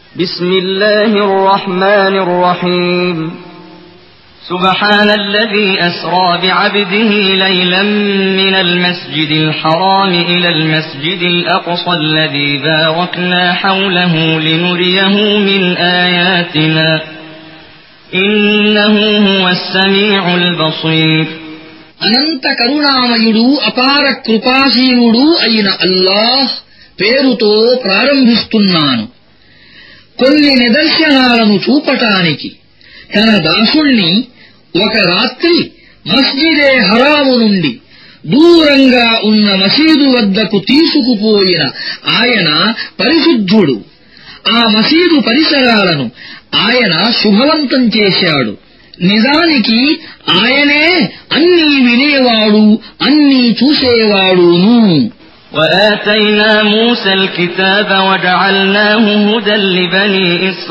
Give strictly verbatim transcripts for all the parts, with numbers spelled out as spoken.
بسم الله الرحمن الرحيم سبحان الذي أسرى بعبده ليلا من المسجد الحرام إلى المسجد الأقصى الذي باركنا حوله لنريه من آياتنا إنه هو السميع البصير. అనంత కరుణామయుడు అపార కృపాశీలుడు అయిన అల్లాహ్ పేరుతో ప్రారంభిస్తున్నాను. కొన్ని నిదర్శనాలను చూపటానికి తన దాసుణ్ణి ఒక రాత్రి మస్జిదే హరాము నుండి దూరంగా ఉన్న మసీదు వద్దకు తీసుకుపోయిన ఆయన పరిశుద్ధుడు. ఆ మసీదు పరిసరాలను ఆయన శుభవంతం చేశాడు. నిజానికి ఆయనే అన్నీ వినేవాడు, అన్నీ చూసేవాడును. وآتينا موسى الكتاب وجعلناه هدى لبني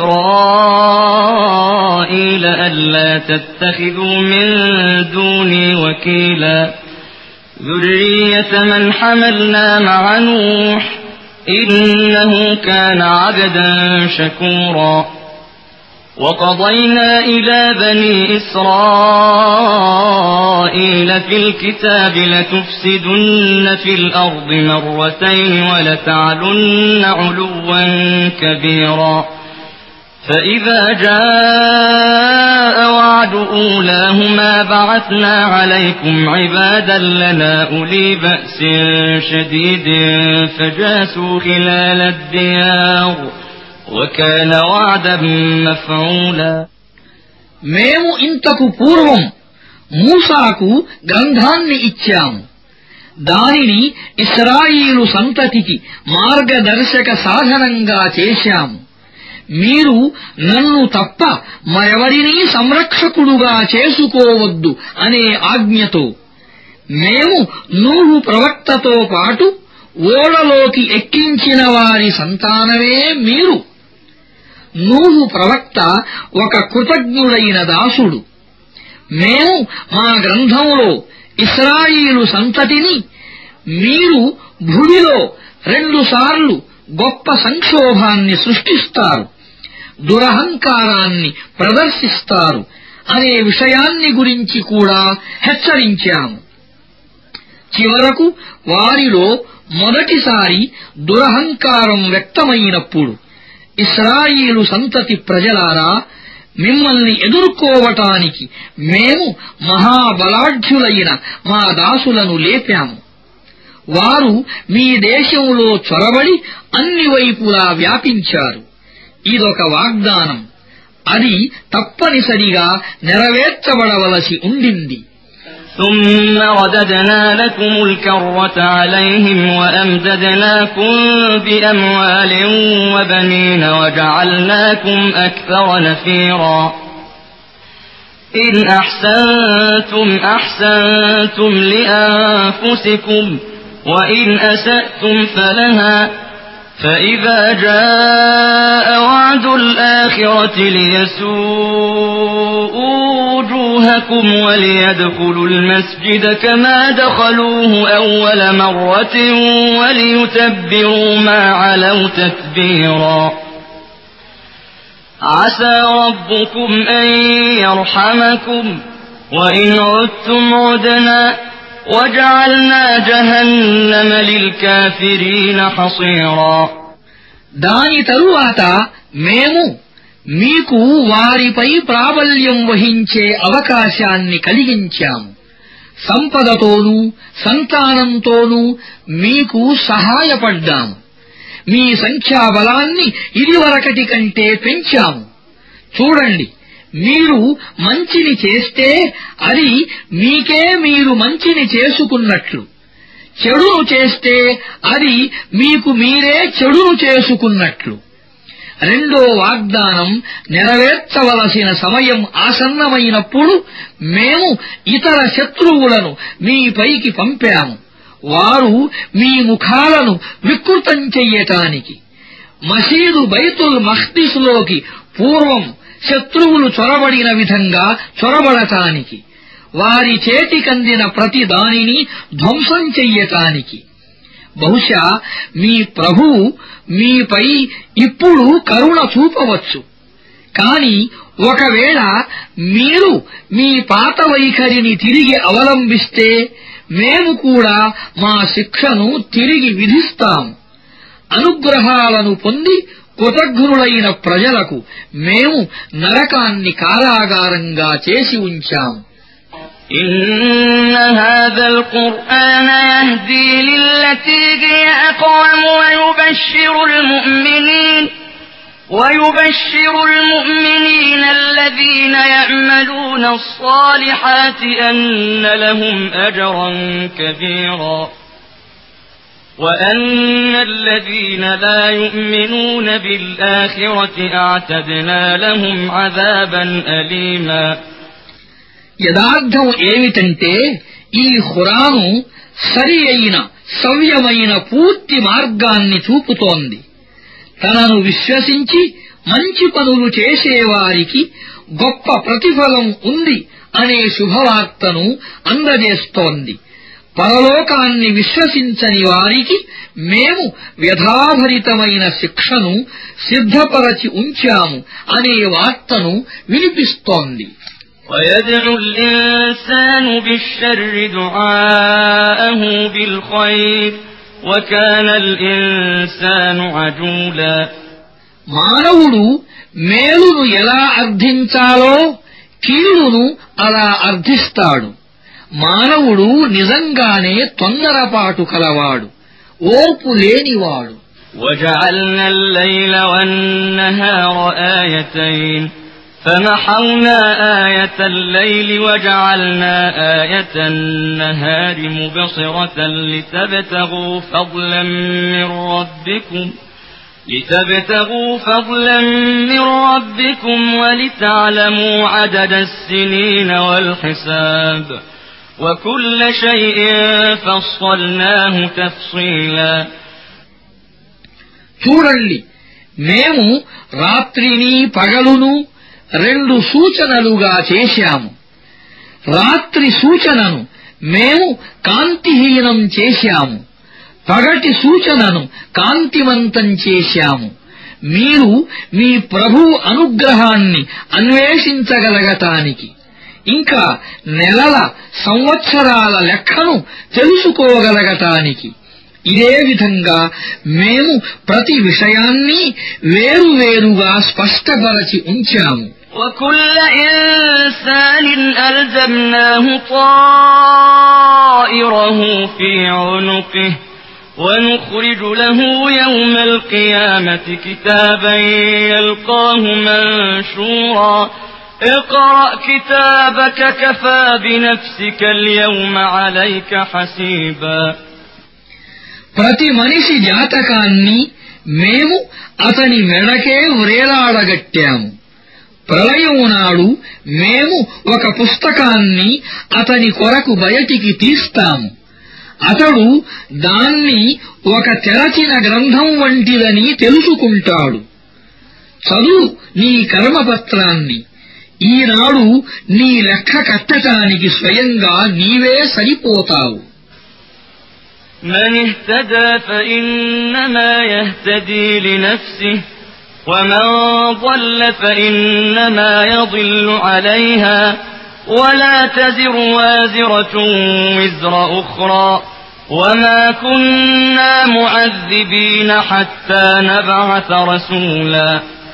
إسرائيل ألا تتخذوا من دوني وكيلا ذرية من حملنا مع نوح إنه كان عبدا شكورا. وقضينا إلى بني إسرائيل في الكتاب لتفسدن في الأرض مرتين ولتعلن علوا كبيرا فإذا جاء وعد أولاهما بعثنا عليكم عبادا لنا أولي بأس شديد فجاسوا خلال الديار وكان وعدا مفعولا. మేము ఇంతకు పూర్వం మూసాకు గ్రంథాన్ని ఇచ్చాము. దానిని ఇశ్రాయేలు సంతతికి మార్గదర్శక సాధనంగా చేశాము. మీరు నన్ను తప్ప మరెవరినీ సంరక్షకుడుగా చేసుకోవద్దు అనే ఆజ్ఞతో మేము నూహు ప్రవక్తతో పాటు ఓడలోకి ఎక్కించిన వారి సంతానమే మీరు. నూహు ప్రవక్త ఒక కృతజ్ఞుడైన దాసుడు. మేము మా గ్రంథంలో ఇశ్రాయేలు సంతతిని మీరు భూమిలో రెండుసార్లు గొప్ప సంక్షోభాన్ని సృష్టిస్తారు, దురహంకారాన్ని ప్రదర్శిస్తారు అనే విషయాన్ని గురించి కూడా హెచ్చరించాము. చివరకు వారిలో మొదటిసారి దురహంకారం వ్యక్తమైనప్పుడు ఇశ్రాయేలు సంతతి ప్రజలారా, మిమ్మల్ని ఎదుర్కోవటానికి మేము మహాబలాఢ్యులైన మా దాసులను లేపాము. వారు మీ దేశంలో చొరబడి అన్ని వైపులా వ్యాపించారు. ఇదొక వాగ్దానం. అది తప్పనిసరిగా నెరవేర్చబడవలసి ఉండింది. ثم رددنا لكم الكرة عليهم وأمددناكم بأموال وبنين وجعلناكم أكثر نفيرا. إن أحسنتم أحسنتم لأنفسكم وإن أسأتم فلها فإذا جاء وعد الآخرة ليسوءوا وجوهكم وليدخلوا المسجد كما دخلوه أول مرة وليتبروا ما علوا تتبيرا. عسى ربكم أن يرحمكم وإن عدتم عدنا وجعلنا جهنم للكافرين حصيرا. దాని తరువాత మేము మీకు వారిపై ప్రాబల్యం వహించే అవకాశాన్ని కలిగించాము. సంపదతోనూ సంతానంతోనూ మీకు సహాయపడ్డాము. మీ సంఖ్యాబలాన్ని ఇదివరకటి కంటే పెంచాము. చూడండి, మీరు మంచిని చేస్తే అది మీకే మీరు మంచిని చేసుకున్నట్లు, చెడును చేస్తే అది మీకు మీరే చెడును చేసుకున్నట్లు. రెండో వాగ్దానం నెరవేర్చవలసిన సమయం ఆసన్నమైనప్పుడు మేము ఇతర శత్రువులను మీపైకి పంపాము. వారు మీ ముఖాలను వికృతం చెయ్యటానికి, మసీదు బైతుల్ మఖ్దిస్లోకి పూర్వం శత్రువులు చొరబడిన విధంగా చొరబడటానికి, వారి చేతికందిన ప్రతి దానిని ధ్వంసం చెయ్యటానికి. బహుశా మీ ప్రభువు మీపై ఇప్పుడు కరుణ చూపవచ్చు. కాని ఒకవేళ మీరు మీ పాత వైఖరిని తిరిగి అవలంబిస్తే మేము కూడా మా శిక్షను తిరిగి విధిస్తాము. అనుగ్రహాలను పొంది కృతజ్ఞులైన ప్రజలకు మేము నరకాన్ని కారాగారంగా చేసి ఉంచాము. إن هذا القرآن يهدي للتي هي أقوم ويبشر المؤمنين ويبشر المؤمنين الذين يعملون الصالحات أن لهم أجرا كبيرا وأن الذين لا يؤمنون بالآخرة أعتدنا لهم عذابا أليما. యదార్థం ఏమిటంటే ఈ ఖురాను సరి అయిన సవ్యమైన పూర్తి మార్గాన్ని చూపుతోంది. తనను విశ్వసించి మంచి పనులు చేసేవారికి గొప్ప ప్రతిఫలం ఉంది అనే శుభవార్తను అందజేస్తోంది. పరలోకాన్ని విశ్వసించని వారికి మేము వ్యధాభరితమైన శిక్షను సిద్ధపరచి ఉంచాము అనే వార్తను వినిపిస్తోంది. ويدعو الإنسان بالشر دعاءه بالخير وكان الإنسان عجولا. మానవుడు మేలును ఎలా అర్థించాలో కీడును అలా అర్థిస్తాడు. మానవుడు నిజంగానే తొందరపాటు కలవాడు, ఓర్పు లేనివాడు. وجعلنا الليل والنهار آيتين فمحونا آية الليل وجعلنا آية النهار مبصرة لتبتغوا فضلا من ربكم لتبتغوا فضلا من ربكم ولتعلموا عدد السنين والحساب وكل شيء فصلناه تفصيلا. చూడండి, మేము రాత్రిని పగలును రెండు సూచనలుగా చేశాము. రాత్రి సూచనను మేము కాంతిహీనం చేశాము, పగటి సూచనను కాంతివంతం చేశాము. మీరు మీ ప్రభువు అనుగ్రహాన్ని అన్వేషించగలగటానికి, ఇంకా నెలల సంవత్సరాల లెక్కను తెలుసుకోగలగటానికి. ఇదే విధంగా మేము ప్రతి విషయాన్ని వేరువేరుగా స్పష్టపరచి ఉంచాము. وكل إنسان ألزمناه طائره في عنقه ونخرج له يوم القيامة كتابا يلقاه منشورا اقرأ كتابك كفى بنفسك اليوم عليك حسيبا. ప్రతి మనిషి జాతకాన్ని మేము అతని మెడకే వ్రేలాడగట్టాము. ప్రళయం నాడు మేము ఒక పుస్తకాన్ని అతని కొరకు బయటికి తీస్తాము. అతడు దాన్ని ఒక తెరచిన గ్రంథం వంటిదని తెలుసుకుంటాడు. చదువు నీ కర్మపత్రాన్ని. ఈనాడు నీ లెక్క కట్టటానికి స్వయంగా నీవే సరిపోతావు. من اهتدى فإنما يهتدي لنفسه ومن ضل فإنما يضل عليها ولا تزر وازرة وزر أخرى وما كنا معذبين حتى نبعث رسولا.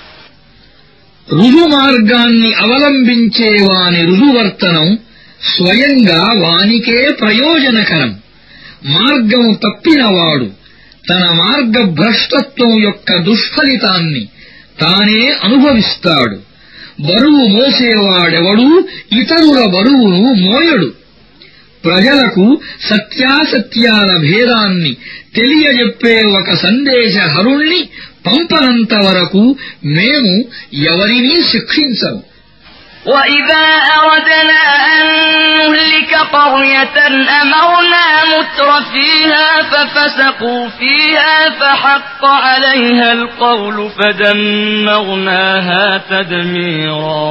రుజుమార్గాన్ని అవలంబించేవాని రుజువర్తనం స్వయంగా వానికే ప్రయోజనకరం. మార్గం తప్పినవాడు తన మార్గభ్రష్టత్వం యొక్క దుష్ఫలితాన్ని తానే అనుభవిస్తాడు. బరువు మోసేవాడెవడూ ఇతరుల బరువును మోయడు. ప్రజలకు సత్యాసత్యాల భేదాన్ని తెలియజెప్పే ఒక సందేశహరుణ్ణి పంపనంత వరకు మేము ఎవరినీ శిక్షించము. وَإِذَا أَرَدْنَا أَن نُّهْلِكَ قَرْيَةً أَمَرْنَا مُتْرَفِيهَا فَفَسَقُوا فِيهَا فَحَقَّ عَلَيْهَا الْقَوْلُ فَدَمَّرْنَاهَا تَدْمِيرًا.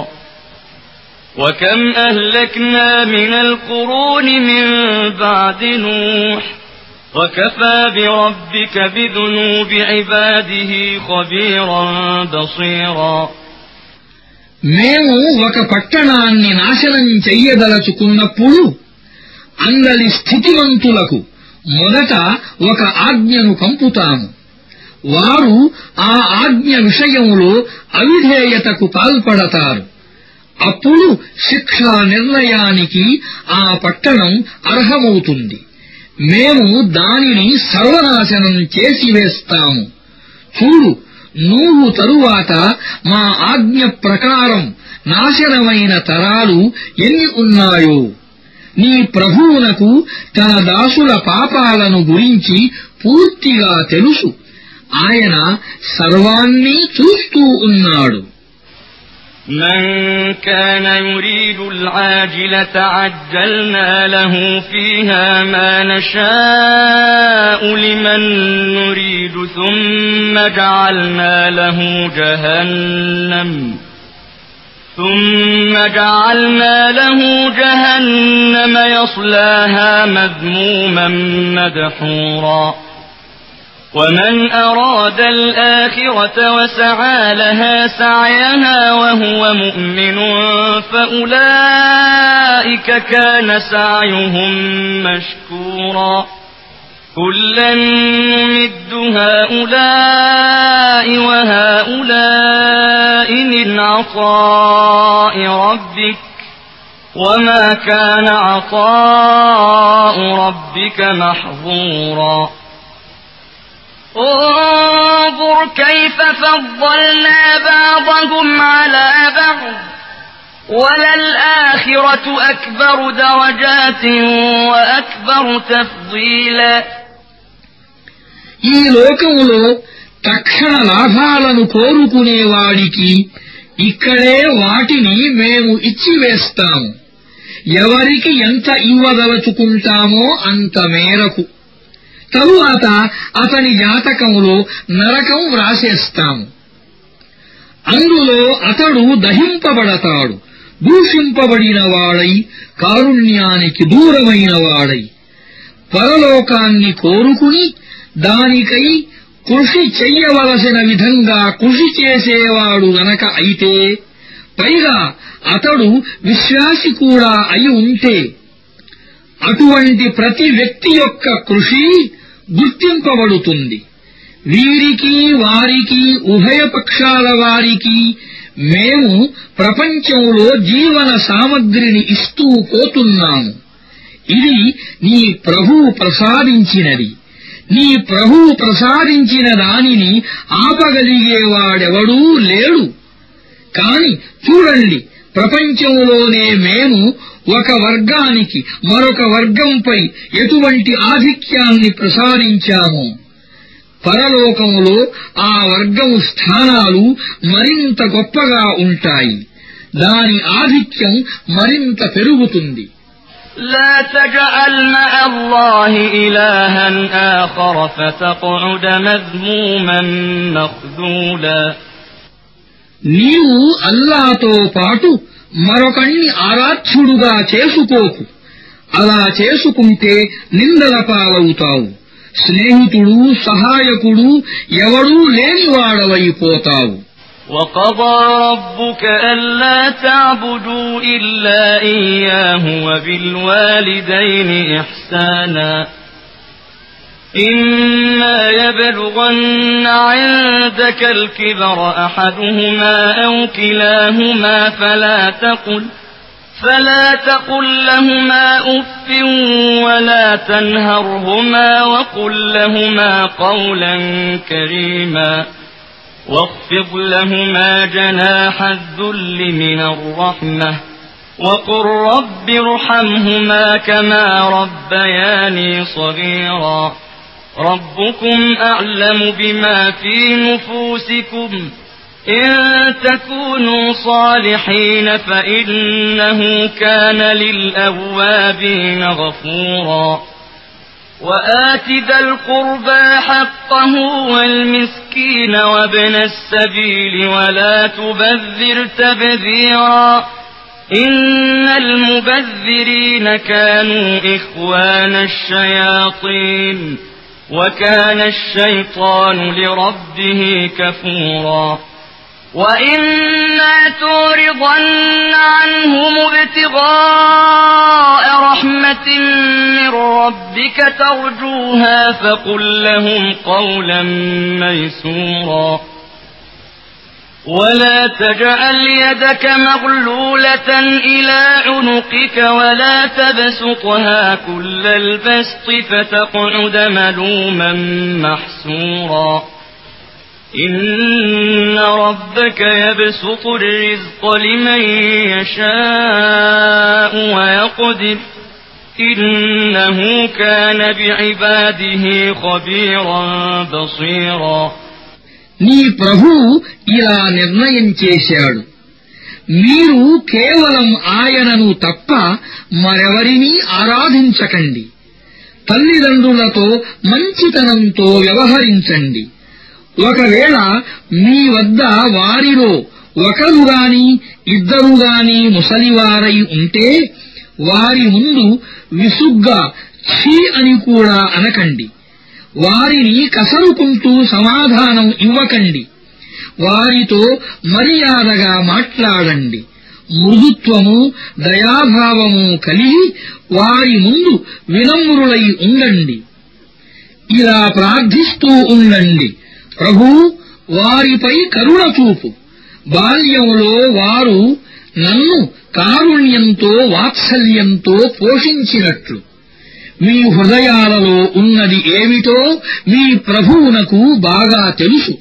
وَكَمْ أَهْلَكْنَا مِنَ الْقُرُونِ مِن بَعْدِ نُوحٍ وكفى بربك بذنوب عباده خبيرا بصيرا మేము ఒక పట్టణాన్ని నాశనం చెయ్యదలచుకున్నప్పుడు అందరి స్థితిమంతులకు మొదట ఒక ఆజ్ఞను పంపుతాము. వారు ఆ ఆజ్ఞ విషయంలో అవిధేయతకు పాల్పడతారు. అప్పుడు శిక్షా నిర్ణయానికి ఆ పట్టణం అర్హమవుతుంది. మేము దానిని సర్వనాశనం చేసివేస్తాము. చూడు, నూహు తరువాత మా ఆజ్ఞ ప్రకారం నాశనమైన తరాలు ఎన్ని ఉన్నాయో. నీ ప్రభువునకు తన దాసుల పాపాలను గురించి పూర్తిగా తెలుసు. ఆయన సర్వాన్నీ చూస్తూ ఉన్నాడు. من كان يريد العاجلة عجلنا له فيها ما نشاء لمن نريد ثم جعلنا له جهنم ثم جعلنا له جهنم يصلاها مذموما مدحورا ومن أراد الآخرة وسعى لها سعيها وهو مؤمن فأولئك كان سعيهم مشكورا كلا نمد هؤلاء وهؤلاء من عطاء ربك وما كان عطاء ربك محظورا انظر كيف فضلنا بعضهم على بعض وللآخرة أكبر درجات وأكبر تفضيلا ఈ లోకములో తక్షణ లాభాలను కోరుకునేవాడికి ఇక్కడే వాటిని మేము ఇచ్చివేస్తాము. ఎవరికి ఎంత ఇవ్వదలుచుకుంటామో అంత మేరకు. తరువాత అతని జాతకంలో నరకం వ్రాసేస్తాము. అందులో అతడు దహింపబడతాడు, దూషింపబడిన వాడై, కారుణ్యానికి దూరమైన వాడై. పరలోకాన్ని కోరుకుని దానికై కృషి చెయ్యవలసిన విధంగా కృషి చేసేవాడు గనక అయితే, పైగా అతడు విశ్వాసి కూడా అయి ఉంటే, అటువంటి ప్రతి వ్యక్తి యొక్క కృషి గుర్తింపబడుతుంది. వీరికి వారికి ఉభయ పక్షాల వారికి మేము ప్రపంచంలో జీవన సామగ్రిని ఇస్తూ పోతున్నాము. ఇది నీ ప్రభువు ప్రసాదించినది. నీ ప్రభువు ప్రసాదించిన దానిని ఆపగలిగేవాడెవడూ లేడు. కాని చూడండి, ప్రపంచంలోనే మేము ఒక వర్గానికి మరొక వర్గంపై ఎటువంటి ఆధిక్యాన్ని ప్రసాదించామో, పరలోకములో ఆ వర్గము స్థానాలు మరింత గొప్పగా ఉంటాయి. దాని ఆధిక్యం మరింత పెరుగుతుంది. لا تجعل مع الله إلها آخر فتقعد مذموما مخذولا నీవు అల్లాతో పాటు మరొకణ్ణి ఆరాధ్యుడుగా చేసుకోకు. అలా చేసుకుంటే నిందల పాలవుతావు. స్నేహితుడు, సహాయకుడు ఎవడూ లేనివాడవైపోతావు. وقضى ربك ألا تعبدوا إلا إياه وبالوالدين إحسانا إما يبلغن عندك الكبر أحدهما أو كلاهما فلا تقل فلا تقل لهما أف ولا تنهرهما وقل لهما قولا كريما واخفض لهما جناح الذل من الرحمة وقل رب ارحمهما كما ربياني صغيرا ربكم أعلم بما في نفوسكم إن تكونوا صالحين فإنه كان للأوابين غفورا وآت ذا القربى حقه والمسكين وابن السبيل ولا تبذر تبذيرا إن المبذرين كانوا إخوان الشياطين وكان الشيطان لربه كفورا وإما تعرضن عنهم ابتغاء رحمة من ربك ترجوها فقل لهم قولا ميسورا ولا تجعل يدك مغلولة إلى عنقك ولا تبسطها كل البسط فتقعد ملوما محسورا إن ربك يبسط الرزق لمن يشاء ويقدر إنه كان بعباده خبيرا بصيرا నీ ప్రభువు ఇలా నిర్ణయం చేశాడు, మీరు కేవలం ఆయనను తప్ప మరెవరినీ ఆరాధించకండి. తల్లిదండ్రులతో మంచితనంతో వ్యవహరించండి. ఒకవేళ మీ వద్ద వారిలో ఒకరుగాని ఇద్దరుగాని ముసలివారై ఉంటే వారి ముందు విసుగ్గా ఛీ అని కూడా అనకండి. వారిని కసరుకుంటూ సమాధానం ఇవ్వకండి. వారితో మర్యాదగా మాట్లాడండి. మృదుత్వము దయాభావము కలిగి వారి ముందు వినమ్రులై ఉండండి. ఇలా ప్రార్థిస్తూ ఉండండి, ప్రభూ వారిపై కరుణ చూపు. బాల్యంలో వారు నన్ను కారుణ్యంతో వాత్సల్యంతో పోషించినట్లు మీ హృదయాలలో ఉన్నది ఏమిటో మీ ప్రభువునకు బాగా తెలుసు.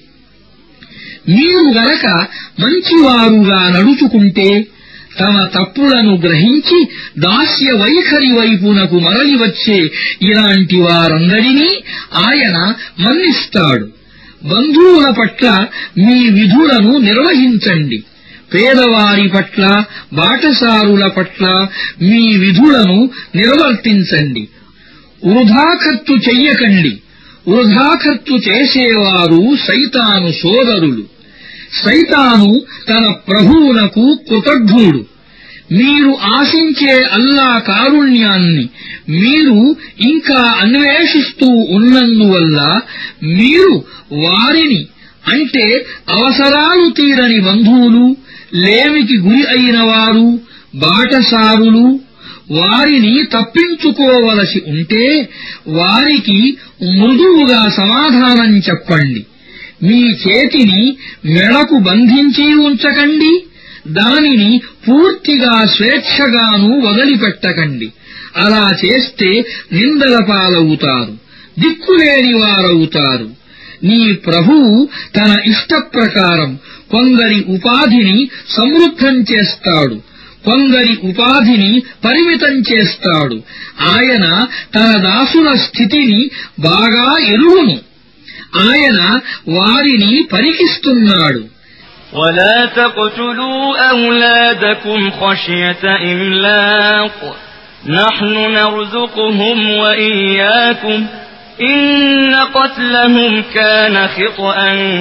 మీరు గనక మంచివారుగా నడుచుకుంటే తమ తప్పులను గ్రహించి దాస్య వైఖరి వైపునకు మరలి వచ్చే ఇలాంటి వారందరినీ ఆయన మన్నిస్తాడు. బంధువుల పట్ల మీ విధులను నిర్వహించండి. పేదవారి పట్ల బాటసారుల పట్ల మీ విధులను నిర్వర్తించండి. వృధా ఖర్చు చెయ్యకండి. వృధా ఖర్చు చేసేవారు సైతాను సోదరులు. సైతాను తన ప్రభువునకు కృతజ్ఞుడు. మీరు ఆశించే అల్లా కారుణ్యాన్ని మీరు ఇంకా అన్వేషిస్తూ ఉన్నందువల్ల మీరు వారిని, అంటే అవసరాలు తీరని బంధువులు, లేమికి గురి అయిన వారు, బాటసారులు, వారిని తప్పించుకోవలసి ఉంటే వారికి మృదువుగా సమాధానం చెప్పండి. మీ చేతిని మెడకు బంధించి ఉంచకండి. దానిని పూర్తిగా స్వేచ్ఛగాను వదిలిపెట్టకండి. అలా చేస్తే నిందల పాలవుతారు, దిక్కులేని వారవుతారు. నీ ప్రభువు తన ఇష్టప్రకారం కొందరి ఉపాధిని సమృద్ధం చేస్తాడు, కొందరి ఉపాధిని పరిమితం చేస్తాడు. ఆయన తన దాసుల స్థితిని బాగా ఎరుగును. ఆయన వారిని పరికిస్తున్నాడు. ولا تقتلوا أولادكم خشية إملاق نحن نرزقهم وإياكم إن قتلهم كان خطأ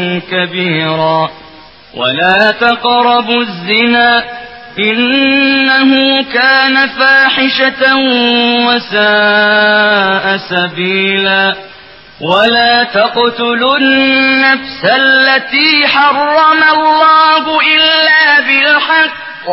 كبيرا ولا تقربوا الزنا إنه كان فاحشة وساء سبيلا ولا تقتلوا النفس التي حرم الله إلا بالحق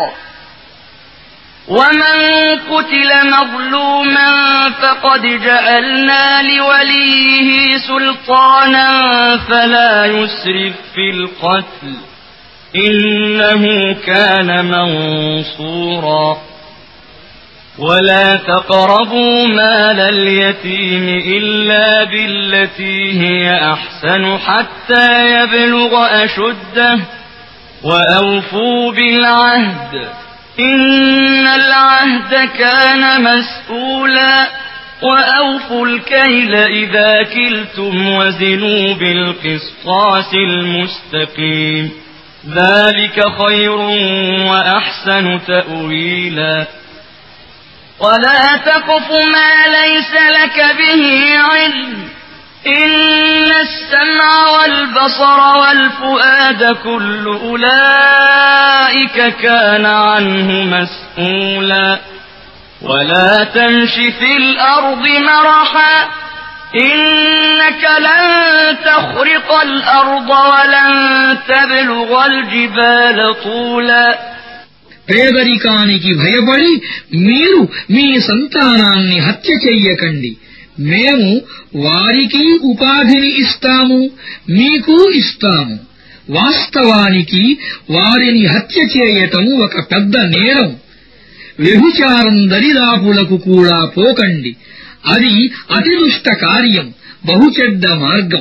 ومن قتل مظلوما فقد جعلنا لوليه سلطانا فلا يسرف في القتل إنه كان منصورا ولا تقربوا مال اليتيم إلا بالتي هي أحسن حتى يبلغ أشده وأوفوا بالعهد إن العهد كان مسؤولا وأوفوا الكيل إذا كلتم وزنوا بالقسطاس المستقيم ذلك خير وأحسن تأويلا ولا تقف ما ليس لك به علم إن السمع والبصر والفؤاد كل أولئك كان عنه مسؤولا ولا تمش في الأرض مرحا إنك لن تخرق الأرض ولن تبلغ الجبال طولا. పేదరికానికి భయపడి మీరు మీ సంతానాన్ని హత్య చెయ్యకండి. మేము వారికి ఉపాధిని ఇస్తాము, మీకు ఇస్తాము. వాస్తవానికి వారిని హత్య చేయటం ఒక పెద్ద నేరం. వ్యభిచారం దరిదాపులకు కూడా పోకండి, అది అతిదుష్ట కార్యం, బహుచెడ్డ మార్గం.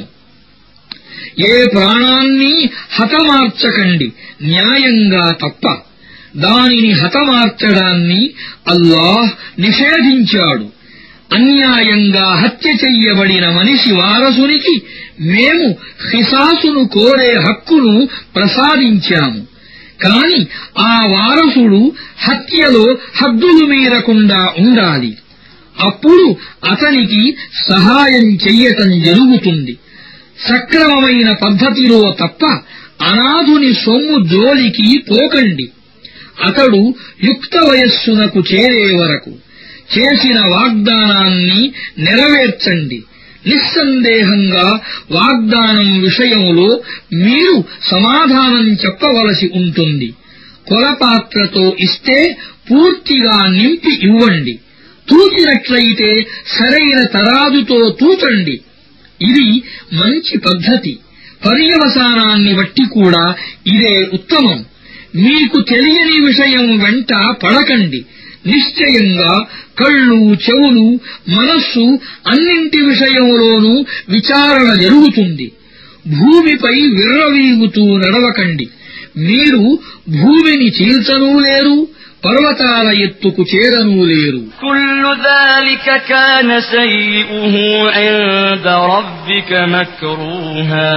ఏ ప్రాణాన్ని హతమార్చకండి న్యాయంగా తప్ప. దానిని హతమార్చడాన్ని అల్లాహ్ నిషేధించాడు. అన్యాయంగా హత్య చెయ్యబడిన మనిషి వారసునికి మేము ఖిసాసును కోరే హక్కును ప్రసాదించాము. కాని ఆ వారసుడు హత్యలో హద్దులు మీరకుండా ఉండాలి. అప్పుడు అతనికి సహాయం చెయ్యటం జరుగుతుంది. సక్రమమైన పద్ధతిలో తప్ప అనాథుని సొమ్ము జోలికి పోకండి. అతడు యుక్త వయస్సునకు చేరే వరకు చేసిన వాగ్దానాన్ని నెరవేర్చండి. నిస్సందేహంగా వాగ్దానం విషయంలో మీరు సమాధానం చెప్పవలసి ఉంటుంది. కొలపాత్రతో ఇస్తే పూర్తిగా నింపి ఇవ్వండి. తూచినట్లయితే సరైన తరాదుతో తూచండి. ఇది మంచి పద్ధతి. పర్యవసానాన్ని బట్టి కూడా ఇదే ఉత్తమం. మీకు తెలియని విషయం వెంట పడకండి. నిశ్చయంగా కళ్ళు, చెవులు, మనస్సు అన్నింటి విషయంలోనూ విచారణ జరుగుతుంది. భూమిపై విర్రవీగుతూ నడవకండి. మీరు భూమిని చీల్చనూ లేరు, పర్వతాల ఎత్తుకు చేరనూ లేరు. కుల్లు ذلك كان سيئه عند ربك مكروها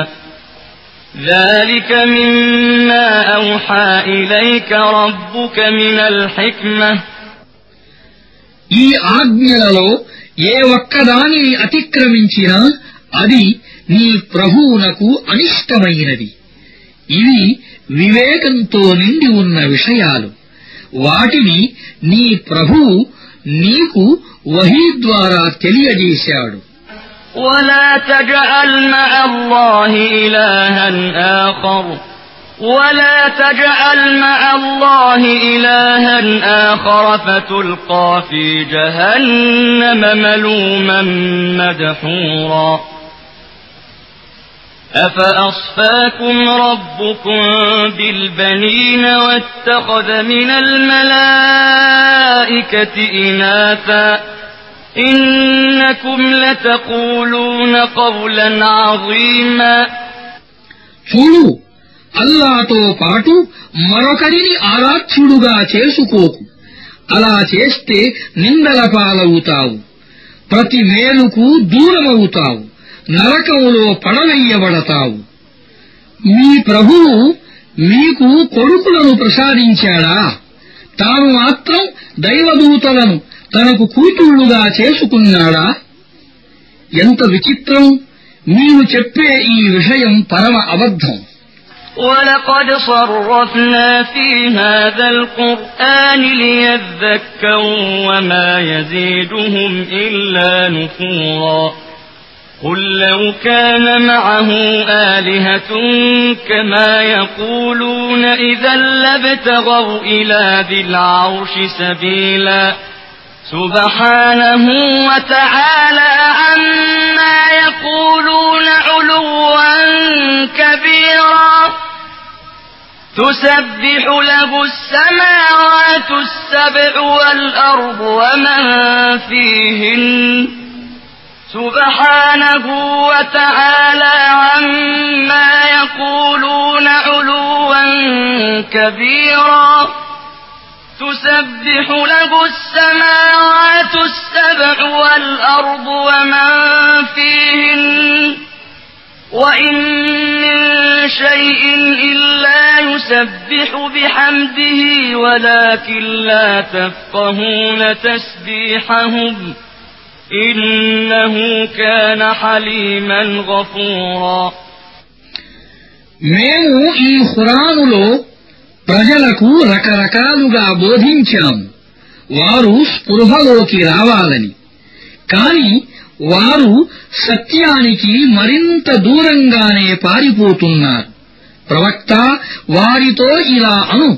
ذلك مما أوحى إليك ربك من الحكمة. ఈ ఆజ్ఞలలో ఏ ఒక్కదానిని అతిక్రమించినా అది నీ ప్రభువునకు అనిష్టమైనది. ఇవి వివేకంతో నిండి ఉన్న విషయాలు. వాటిని నీ ప్రభువు నీకు వహీ ద్వారా తెలియజేశాడు. ولا تجعل مع الله إلها آخر ولا تجعل مع الله إلها آخر فتلقى في جهنم ملوما مدحورا. أفأصفاكم ربكم بالبنين واتخذ من الملائكة إناثا إنكم لتقولون قولا عظيما. చూడు, అల్లాతో పాటు మరొకరిని ఆరాధ్యుడుగా చేసుకోకు. అలా చేస్తే నిందల పాలవుతావు, ప్రతి మేలుకు దూరమవుతావు, నరకములో పడవేయబడతావు. మీ ప్రభువు మీకు కొడుకులను ప్రసాదించాడా? తాను మాత్రం దైవదూతలను తనకు కూతుళ్లుగా చేసుకున్నాడా? ఎంత విచిత్రం! మీరు చెప్పే ఈ విషయం పరమ అబద్ధం. وَلَقَدْ صَرَّفْنَا فِي هَذَا الْقُرْآنِ لِيَذَّكَّرُوا وَمَا يَزِيدُهُمْ إِلَّا نُفُورًا. قُل لَّوْ كَانَ مَعَهُ آلِهَةٌ كَمَا يَقُولُونَ إِذًا لَّابْتَغَوْا إِلَىٰ ذِي الْعَرْشِ سَبِيلًا. سُبْحَانَهُ وَتَعَالَىٰ عَمَّا يَقُولُونَ عُلُوًّا كَبِيرًا. تُسَبِّحُ لَهُ السَّمَاوَاتُ السَّبْعُ وَالْأَرْضُ وَمَن فِيهِنَّ سُبْحَانَهُ وَتَعَالَىٰ عَمَّا يَقُولُونَ عُلُوًّا كَبِيرًا. تُسَبِّحُ لَهُ السَّمَاوَاتُ السَّبْعُ وَالْأَرْضُ وَمَن فِيهِنَّ وَإِن مِّن شَيْءٍ إِلَّا يُسَبِّحُ بِحَمْدِهِ وَلَكِن لَّا تَفْقَهُونَ تَسْبِيحَهُمْ إنه كان حليما غفورا. మేము ఈ ఖురానులో ప్రజలకు రకరకాలుగా బోధించాము వారు స్పృహలోకి రావాలని. కాని వారు సత్యానికి మరింత దూరంగానే పారిపోతున్నారు. ప్రవక్త వారితో ఇలా అను,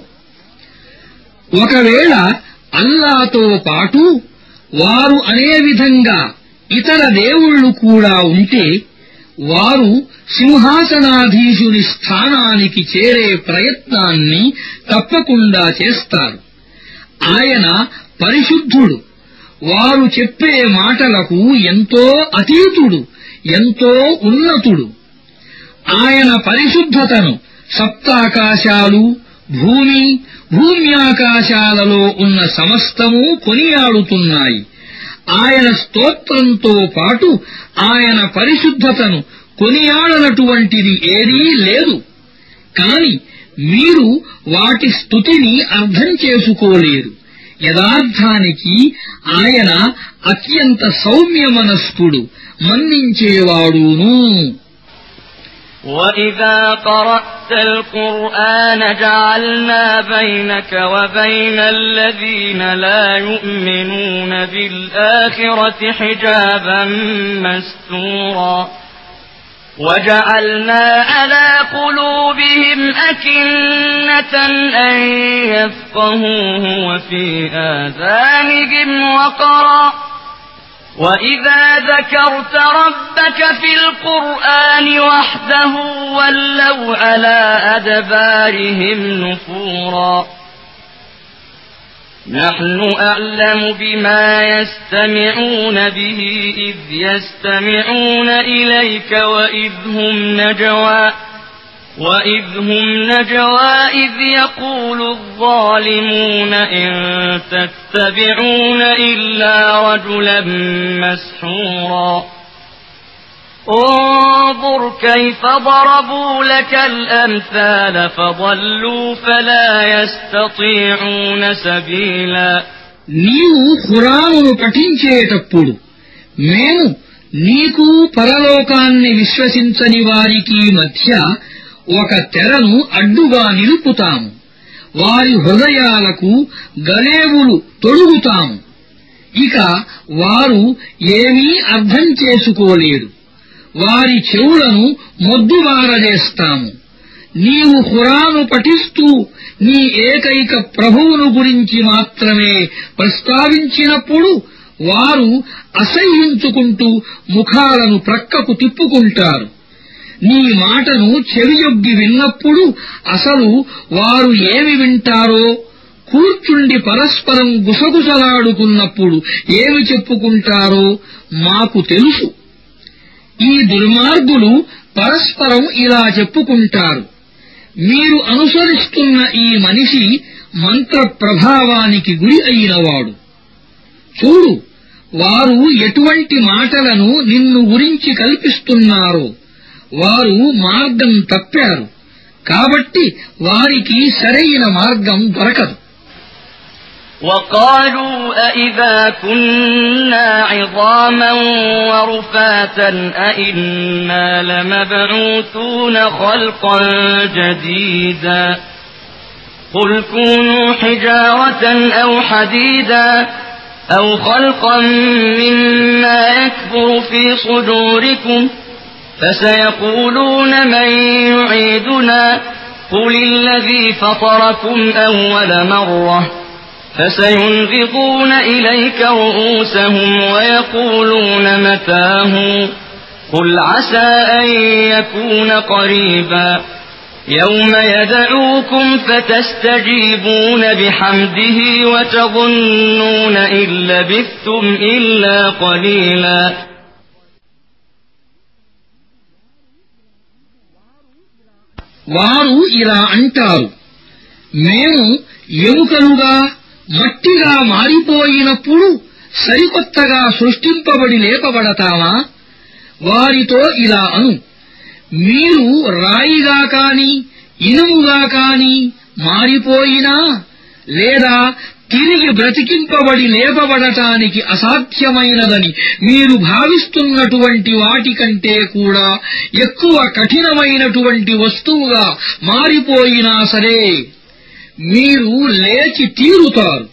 ఒకవేళ అల్లాతో పాటు వారు అనే విధంగా ఇతర దేవుళ్ళు కూడా ఉంటే వారు సింహాసనాధీశుని స్థానానికి చేరే ప్రయత్నాన్ని తప్పకుండా చేస్తారు. ఆయన పరిశుద్ధుడు, వారు చెప్పే మాటలకు ఎంతో అతీతుడు, ఎంతో ఉన్నతుడు. ఆయన పరిశుద్ధతను సప్తాకాశాలు, భూమి, భూమ్యాకాశాలలో ఉన్న సమస్తము కొనియాడుతున్నాయి. ఆయన స్తోత్రంతో పాటు ఆయన పరిశుద్ధతను కొనియాడనటువంటిది ఏదీ లేదు. కాని మీరు వాటి స్తుతిని అర్థం చేసుకోలేరు. యథార్థానికి ఆయన అత్యంత సౌమ్యమనస్కుడు, మన్నించేవాడును. وَإِذَا قَرَأْتَ الْقُرْآنَ جَعَلْنَا بَيْنَكَ وَبَيْنَ الَّذِينَ لَا يُؤْمِنُونَ بِالْآخِرَةِ حِجَابًا مَسْتُورًا وَجَعَلْنَا عَلَى قُلُوبِهِمْ أَكِنَّةً أَن يَفْقَهُوهُ وَفِي آذَانِهِمْ وَقْرًا وَإِذَا ذَكَرْتَ رَبَّكَ فِي الْقُرْآنِ وَحْدَهُ وَلَّوْا عَلَى أَدْبَارِهِمْ نُفُورًا نَحْنُ أَعْلَمُ بِمَا يَسْتَمِعُونَ بِهِ إِذْ يَسْتَمِعُونَ إِلَيْكَ وَإِذْ هُمْ نَجْوَى وَإِذْ هُمْ نَجْوَى إِذْ يَقُولُ الظَّالِمُونَ إِن تَتَّبِعُونَ إِلَّا رَجُلًا مَّسْحُورًا انظُرْ كَيْفَ ضَرَبُوا لَكَ الْأَمْثَالَ فَضَلُّوا فَلَا يَسْتَطِيعُونَ سَبِيلًا. నీవు ఖురానును పఠించేటప్పుడు మేము నీకు పరలోకాన్ని విశ్వసించని వారికి మధ్య ఒక తెరను అడ్డుగా నిలుపుతాము. వారి హృదయాలకు గలేవులు తొడుగుతాము. ఇక వారు ఏమీ అర్థం చేసుకోలేరు. వారి చెవులను మొద్దుబారజేస్తాము. నీవు ఖురాను పఠిస్తూ నీ ఏకైక ప్రభువును గురించి మాత్రమే ప్రస్తావించినప్పుడు వారు అసహ్యించుకుంటూ ముఖాలను ప్రక్కకు తిప్పుకుంటారు. నీ మాటను చెవియొగ్గి విన్నప్పుడు అసలు వారు ఏమి వింటారో, కూర్చుండి పరస్పరం గుసగుసలాడుకున్నప్పుడు ఏమి చెప్పుకుంటారో మాకు తెలుసు. ఈ దుర్మార్గులు పరస్పరం ఇలా చెప్పుకుంటారు, మీరు అనుసరిస్తున్న ఈ మనిషి మంత్ర ప్రభావానికి గురి అయినవాడు. చూడు, వారు ఎటువంటి మాటలను నిన్ను గురించి కల్పిస్తున్నారో. వారు మార్గం తప్పారు, కాబట్టి వారికి సరైన మార్గం దొరకదు. وَقَالُوا أَإِذَا كُنَّا عِظَامًا وَرُفَاتًا أَإِنَّا لَمَبْعُوثُونَ خَلْقًا جَدِيدًا قُلْ كُونُوا حِجَارَةً أَوْ حَدِيدًا أَوْ خَلْقًا مِّمَّا يَكْبُرُ فِي صُدُورِكُمْ فَسَيَقُولُونَ مَن يُعِيدُنَا قُلِ الَّذِي فَطَرَكُمْ أَوَّلَ مَرَّةٍ فَسَيُنْغِضُونَ إِلَيْكَ رُءُوسَهُمْ وَيَقُولُونَ مَتَىٰ هُوَ قُلْ عَسَىٰ أَن يَكُونَ قَرِيبًا يَوْمَ يَدْعُوكُمْ فَتَسْتَجِيبُونَ بِحَمْدِهِ وَتَظُنُّونَ إِن لَّبِثْتُمْ إِلَّا قَلِيلًا. వారు ఇలా అంటారు, మేము ఎముకలుగా మట్టిగా మారిపోయినప్పుడు సరికొత్తగా సృష్టింపబడి లేపబడతామా? వారితో ఇలా అను, మీరు రాయిగా కాని ఇనుముగా కాని మారిపోయినా లేదా తిరిగి బ్రతికింపబడి లేపబడటానికి అసాధ్యమైనదని మీరు భావిస్తున్నటువంటి వాటికంటే కూడా ఎక్కువ కఠినమైనటువంటి వస్తువుగా మారిపోయినా సరే మీరు లేచి తీరుతారు.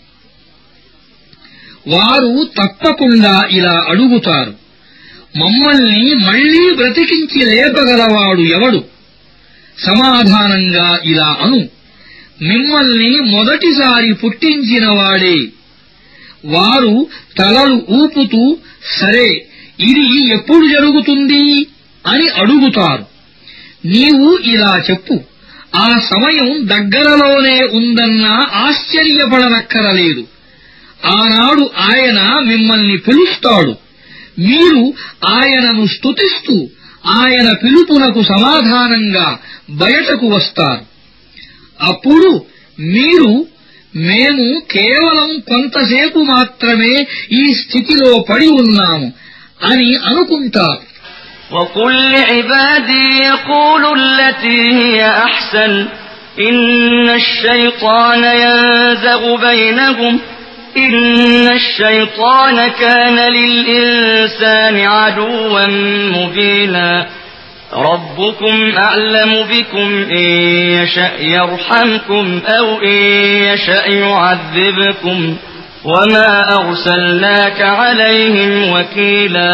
వారు తప్పకుండా ఇలా అడుగుతారు, మమ్మల్ని మళ్లీ బ్రతికించి లేపగలవాడు ఎవడు? సమాధానంగా ఇలా అను, మిమ్మల్ని మొదటిసారి పుట్టించినవాడే. వారు తలలు ఊపుతూ సరే ఇది ఎప్పుడు జరుగుతుంది అని అడుగుతారు. నీవు ఇలా చెప్పు, ఆ సమయం దగ్గరలోనే ఉందన్నా ఆశ్చర్యపడనక్కరలేదు. ఆనాడు ఆయన మిమ్మల్ని పిలుస్తాడు. మీరు ఆయనను స్తుతిస్తూ ఆయన పిలుపునకు సమాధానంగా బయటకు వస్తారు. అప్పుడు మీరు మేము కేవలం కొంతసేపు మాత్రమే ఈ స్థితిలో పడి ఉన్నాము అని అనుకుంటారు. وَقُلْ لِعِبَادِي يَقُولُوا الَّتِي هِيَ أَحْسَنُ إِنَّ الشَّيْطَانَ يَنزَغُ بَيْنَهُمْ إِنَّ الشَّيْطَانَ كَانَ لِلْإِنسَانِ عَدُوًّا مُبِينًا رَبُّكُمْ أَعْلَمُ بِكُمْ إِن يَشَأْ يَرْحَمْكُمْ أَوْ إِن يَشَأْ يُعَذِّبْكُمْ وَمَا أَرْسَلْنَاكَ عَلَيْهِمْ وَكِيلًا.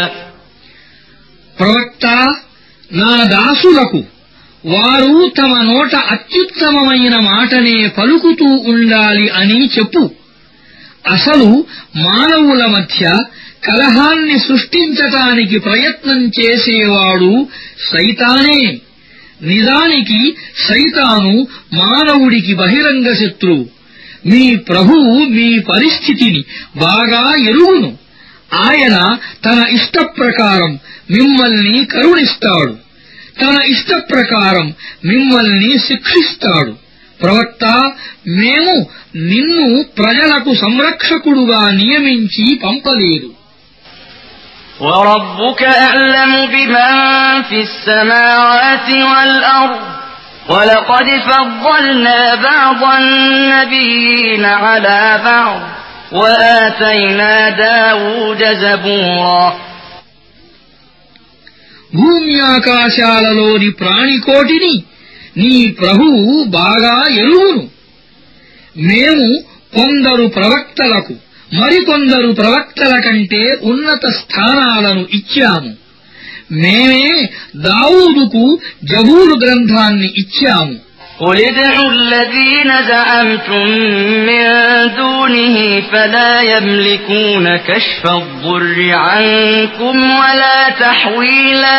ప్రవక్త, నా దాసులకు వారు తమ నోట అత్యుత్తమమైన మాటనే పలుకుతూ ఉండాలి అని చెప్పు. అసలు మానవుల మధ్య కలహాన్ని సృష్టించటానికి ప్రయత్నం చేసేవాడు సైతానే. నిజానికి సైతాను మానవుడికి బహిరంగ శత్రువు. మీ ప్రభువు మీ పరిస్థితిని బాగా ఎరుగును. ఆయన తన ఇష్టప్రకారం మిమ్మల్ని కరుణిస్తాడు, తన ఇష్టప్రకారం మిమ్మల్ని శిక్షిస్తాడు. ప్రవక్త, మేము నిన్ను ప్రజలకు సంరక్షకుడుగా నియమించి పంపలేదు. وَرَبُّكَ أَعْلَمُ بِمَن فِي السَّمَاوَاتِ وَالْأَرْضِ وَلَقَدْ فَضَّلْنَا بَعْضَ النَّبِيِّينَ عَلَى بَعْضٍ وَآتَيْنَا دَاوُودَ زَبُورًا. భూమ్యాకాశాలలోని ప్రాణికోటిని నీ ప్రభువు బాగా ఎరుగును. మేము కొందరు ప్రవక్తలకు మరికొందరు ప్రవక్తల కంటే ఉన్నత స్థానాలను ఇచ్చాము. మేమే దావూదుకు జబూరు గ్రంథాన్ని ఇచ్చాము. قُلِ ادْعُوا الَّذِينَ زَعَمْتُم مِّن دُونِهِ فَلَا يَمْلِكُونَ كَشْفَ الضُّرِّ عَنكُمْ وَلَا تَحْوِيلًا.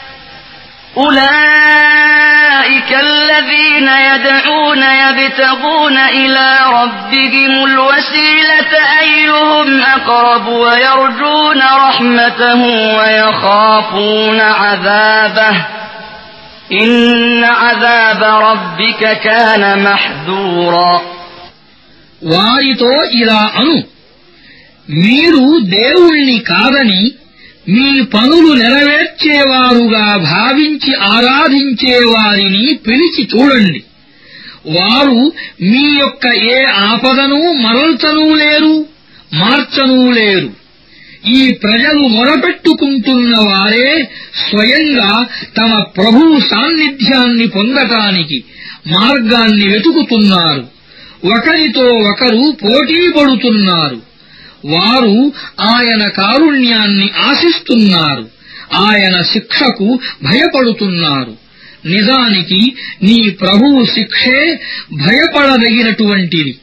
أُولَئِكَ الَّذِينَ يَدْعُونَ يَبْتَغُونَ إِلَى رَبِّهِمُ الْوَسِيلَةَ أَيُّهُمْ أَقْرَبُ وَيَرْجُونَ رَحْمَتَهُ وَيَخَافُونَ عَذَابَهُ إِنَّ عَذَابَ رَبِّكَ كَانَ مَحْذُورًا. వారితో ఇలా అను, మీరు దేవుణ్ణి కాదని మీ పనులు నెరవేర్చేవారుగా భావించి ఆరాధించేవారిని పిలిచి చూడండి. వారు మీ యొక్క ఏ ఆపదను మరల్చనూ లేరు, మార్చనూ లేరు. ఈ ప్రజలు మొరపెట్టుకుంటున్న వారే స్వయంగా తమ ప్రభువు సాన్నిధ్యాన్ని పొందటానికి మార్గాన్ని వెతుకుతున్నారు. ఒకరితో ఒకరు పోటీ పడుతున్నారు. వారు ఆయన కారుణ్యాన్ని ఆశిస్తున్నారు, ఆయన శిక్షకు భయపడుతున్నారు. నిజానికి నీ ప్రభువు శిక్షే భయపడదగినటువంటిది.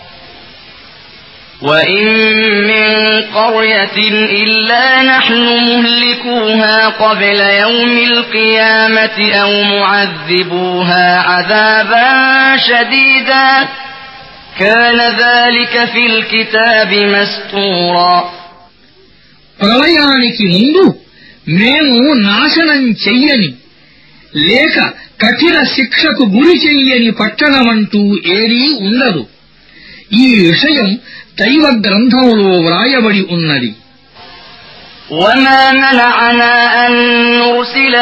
وَإِن مِّن قَرْيَةٍ إِلَّا نَحْنُ مُهْلِكُوهَا قَبْلَ يَوْمِ الْقِيَامَةِ أَوْ مُعَذِّبُوهَا عَذَابًا شَدِيدًا كَانَ ذَلِكَ فِي الْكِتَابِ مَسْطُورًا. ప్రళయానికి ముందు మేము నాశనం చెయ్యని లేక కఠిన శిక్షకు గురి చెయ్యని పట్టణమంటూ ఏదీ ఉండదు. ఈ విషయం దైవ గ్రంథంలో వ్రాయబడి ఉన్నది. وَمَا مَنَعَنَا أَن نُّرْسِلَ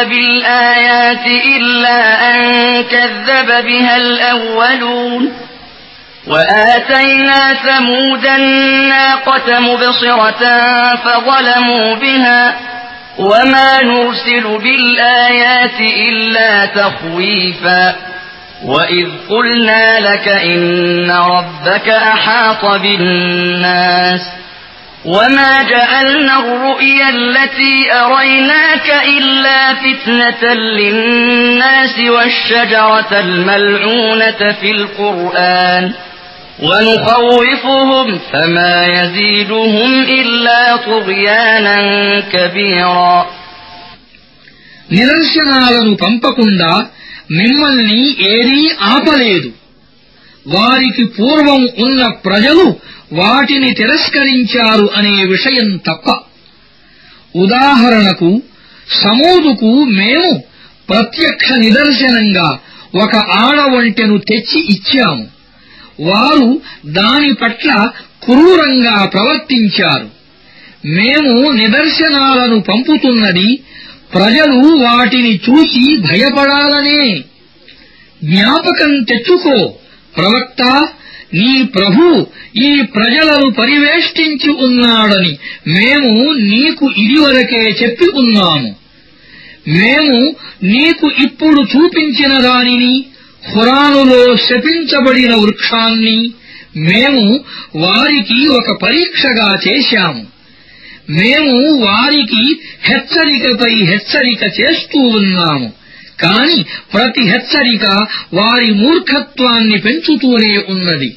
بِالْآيَاتِ إِلَّا أَن كَذَّبَ بِهَا الْأَوَّلُونَ وآتينا ثمود الناقة مبصرة فظلموا بها وما نرسل بالآيات إلا تخويفا وإذ قلنا لك إن ربك أحاط بالناس وما جعلنا الرؤيا التي أريناك إلا فتنة للناس والشجرة الملعونة في القرآن ونخوفهم فما يزيدهم إلا طغيانا كبيرا. నిదర్శనాలను పంపకుండా మిమ్మల్ని ఏదీ ఆపలేదు. వారికి పూర్వం ఉన్న ప్రజలు వాటిని తిరస్కరించారు అనే విషయం తప్ప. ఉదాహరణకు సమూదుకు మేము ప్రత్యక్ష నిదర్శనంగా ఒక ఆడవంటెను తెచ్చి ఇచ్చాము. వారు దాని పట్ల క్రూరంగా ప్రవర్తించారు. మేము నిదర్శనాలను పంపుతున్నది ప్రజలు వాటిని చూసి భయపడాలనే. జ్ఞాపకం తెచ్చుకో ప్రవక్త, నీ ప్రభు ఈ ప్రజలను పరివేష్టించి ఉన్నాడని మేము నీకు ఇదివరకే చెప్పి ఉన్నాము. మేము నీకు ఇప్పుడు చూపించిన దానిని, ఖురానులో శపించబడిన వృక్షాన్ని మేము వారికి ఒక పరీక్షగా చేశాము. మేము వారికి హెచ్చరికపై హెచ్చరిక చేస్తూ ఉన్నాము. కాని ప్రతి హెచ్చరిక వారి మూర్ఖత్వాన్ని పెంచుతూనే ఉన్నది.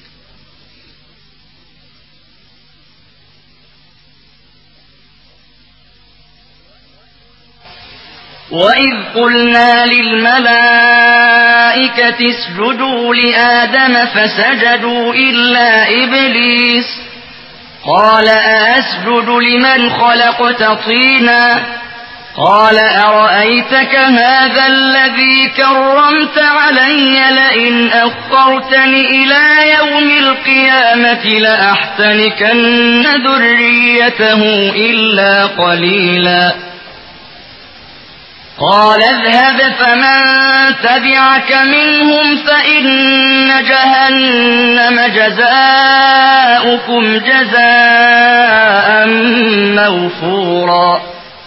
وَإِذْ قُلْنَا لِلْمَلَائِكَةِ اسْجُدُوا لِآدَمَ فَسَجَدُوا إِلَّا إِبْلِيسَ قَالَ أَأَسْجُدُ لِمَنْ خَلَقْتَ طِينًا قَالَ أَرَأَيْتَكَ هَذَا الَّذِي كَرَّمْتَ عَلَيَّ لَئِنْ أَخَّرْتَنِ إِلَى يَوْمِ الْقِيَامَةِ لَأَحْتَنِكَنَّ ذُرِّيَّتَهُ إِلَّا قَلِيلًا قَالَ اذْهَبْ فَمَن تَبِعَكَ مِنْهُمْ فَإِنَّ جَهَنَّمَ جَزَاؤُكُمْ جَزَاءً مَّوْفُورًا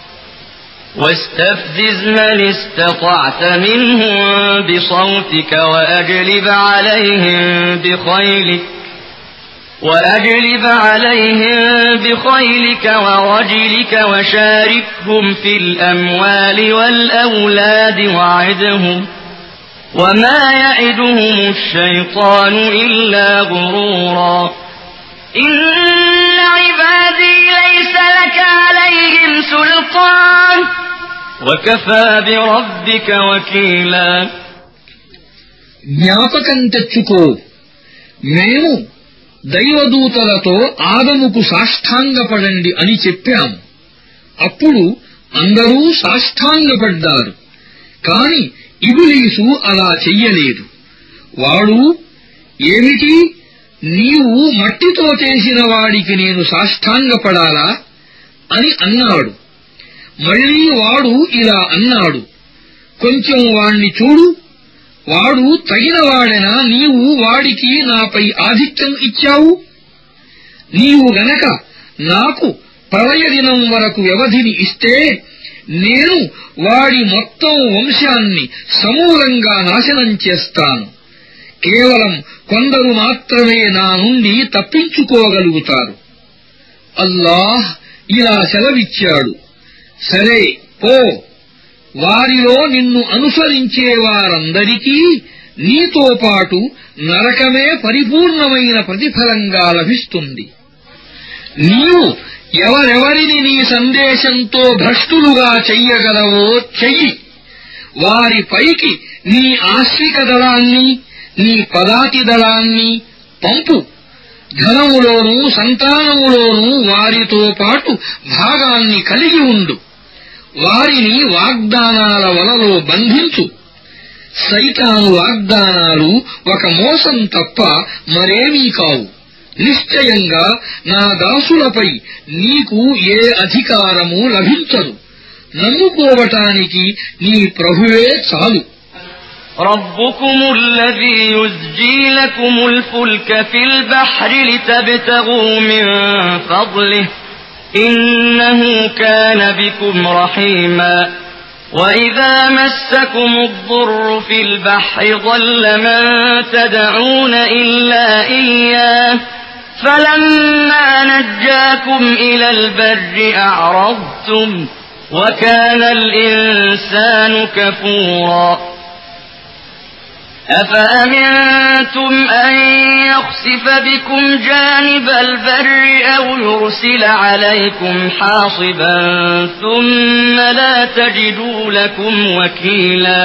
واستفزز من استطعت منهم بصوتك وأجلب عليهم بخيلك وأجلب عليهم بخيلك ورجلك وشاركهم في الأموال والأولاد وعدهم وما يعدهم الشيطان إلا غرورا إن عبادي ليس لك عليهم سلطان وكفى بربك وكيلا. జ్ఞాపకం తెచ్చుకో, మేము దైవదూతలతో ఆదముకు సాష్టాంగపడండి అని చెప్పాము. అప్పుడు అందరూ సాష్టాంగపడ్డారు. కాని ఇబ్లీసు అలా చెయ్యలేదు. వాడు, ఏమిటి, నీవు మట్టితో చేసిన వాడికి నేను సాష్టాంగపడాలా అని అన్నాడు. మళ్లీ వాడు ఇలా అన్నాడు, కొంచెం వాణ్ణి చూడు, వాడు తగినవాడెనా నీవు వాడికి నాపై ఆధిక్యం ఇచ్చావు? నీవు గనక నాకు ప్రళయ దినం వరకు వ్యవధిని ఇస్తే నేను వాడి మొత్తం వంశాన్ని సమూలంగా నాశనం చేస్తాను. కేవలం కొందరు మాత్రమే నా నుండి తప్పించుకోగలుగుతారు. అల్లాహ్ ఇలా సెలవిచ్చాడు, సరే పో, వారిలో నిన్ను అనుసరించే వారందరికీ నీతో పాటు నరకమే పరిపూర్ణమైన ప్రతిఫలంగా లభిస్తుంది. నీవు ఎవరెవరిని నీ సందేశంతో భ్రష్టులుగా చెయ్యగలవో చెయ్యి. వారి పైకి నీ ఆశ్రిక దళాన్ని, నీ పదాతి దళాన్ని పంపు. ధనములోనూ సంతానములోనూ వారితో పాటు భాగాన్ని కలిగి ఉండు. వారిని వాగ్దానాల వలలో బంధించు. సైతాను వాగ్దానాలు ఒక మోసం తప్ప మరేమీ కావు. నిశ్చయంగా నా దాసులపై నీకు ఏ అధికారము లభించదు. నమ్ముకోవటానికి నీ ప్రభువే చాలు. ربكم الذي يزجي لكم الفلك في البحر لتبتغوا من فضله إنه كان بكم رحيما وإذا مسكم الضر في البحر ضل من تدعون إلا إياه فلما نجاكم إلى البر أعرضتم وكان الإنسان كفورا أفأمنتم أن يخسف بكم جانب البر أو يرسل عليكم حاصبا ثم لا تجدوا لكم وكيلا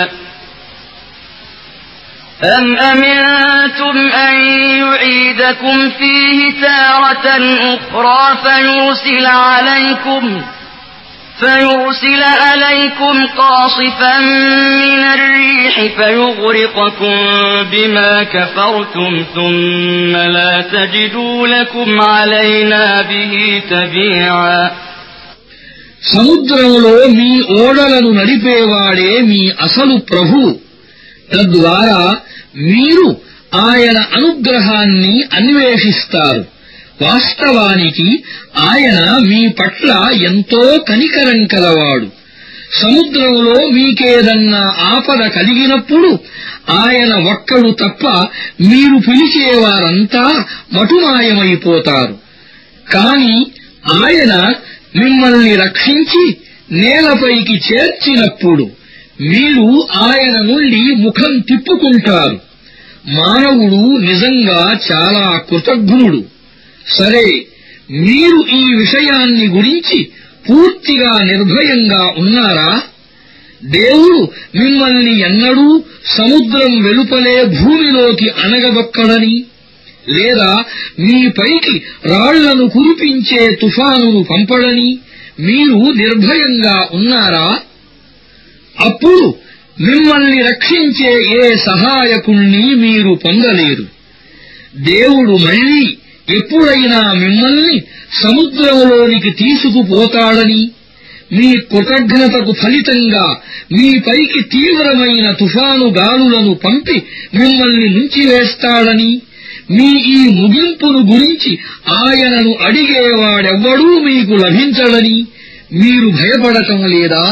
أم أمنتم أن يعيدكم فيه تارة أخرى فيرسل عليكم فيرسل عليكم قاصفا من الريح فيغرقكم بما كفرتم ثم لا تجدوا لكم علينا به تبيعا సముద్రంలో మీ ఓడలను నడిపేవాడే మీ అసలు ప్రభు తద్వారా మీరు ఆయన అనుగ్రహాన్ని అన్వేషిస్తారు వాస్తవానికి ఆయన మీ పట్ల ఎంతో కనికరం కలవాడు సముద్రంలో మీకేదన్నా ఆపద కలిగినప్పుడు ఆయన ఒక్కడు తప్ప మీరు పిలిచేవారంతా మటుమాయమైపోతారు కాని ఆయన మిమ్మల్ని రక్షించి నేలపైకి చేర్చినప్పుడు మీరు ఆయన నుండి ముఖం తిప్పుకుంటారు మానవుడు నిజంగా చాలా కృతజ్ఞుడు సరే మీరు ఈ విషయాన్ని గురించి పూర్తిగా నిర్భయంగా ఉన్నారా దేవుడు మిమ్మల్ని ఎన్నడూ సముద్రం వెలుపలే భూమిలోకి అణగదొక్కడని లేదా మీపైకి రాళ్లను కురిపించే తుఫానును పంపడని మీరు నిర్భయంగా ఉన్నారా అప్పుడు మిమ్మల్ని రక్షించే ఏ సహాయకుణ్ణి మీరు పొందలేరు దేవుడు మళ్లీ ఎప్పుడైనా మిమ్మల్ని సముద్రంలోనికి తీసుకుపోతాడని మీ కృతజ్ఞతకు ఫలితంగా మీపైకి తీవ్రమైన తుఫాను గాలులను పంపి మిమ్మల్ని ముంచివేస్తాడని మీ ఈ ముగింపును గురించి ఆయనను అడిగేవాడెవ్వడూ మీకు లభించడని మీరు భయపడటం లేదా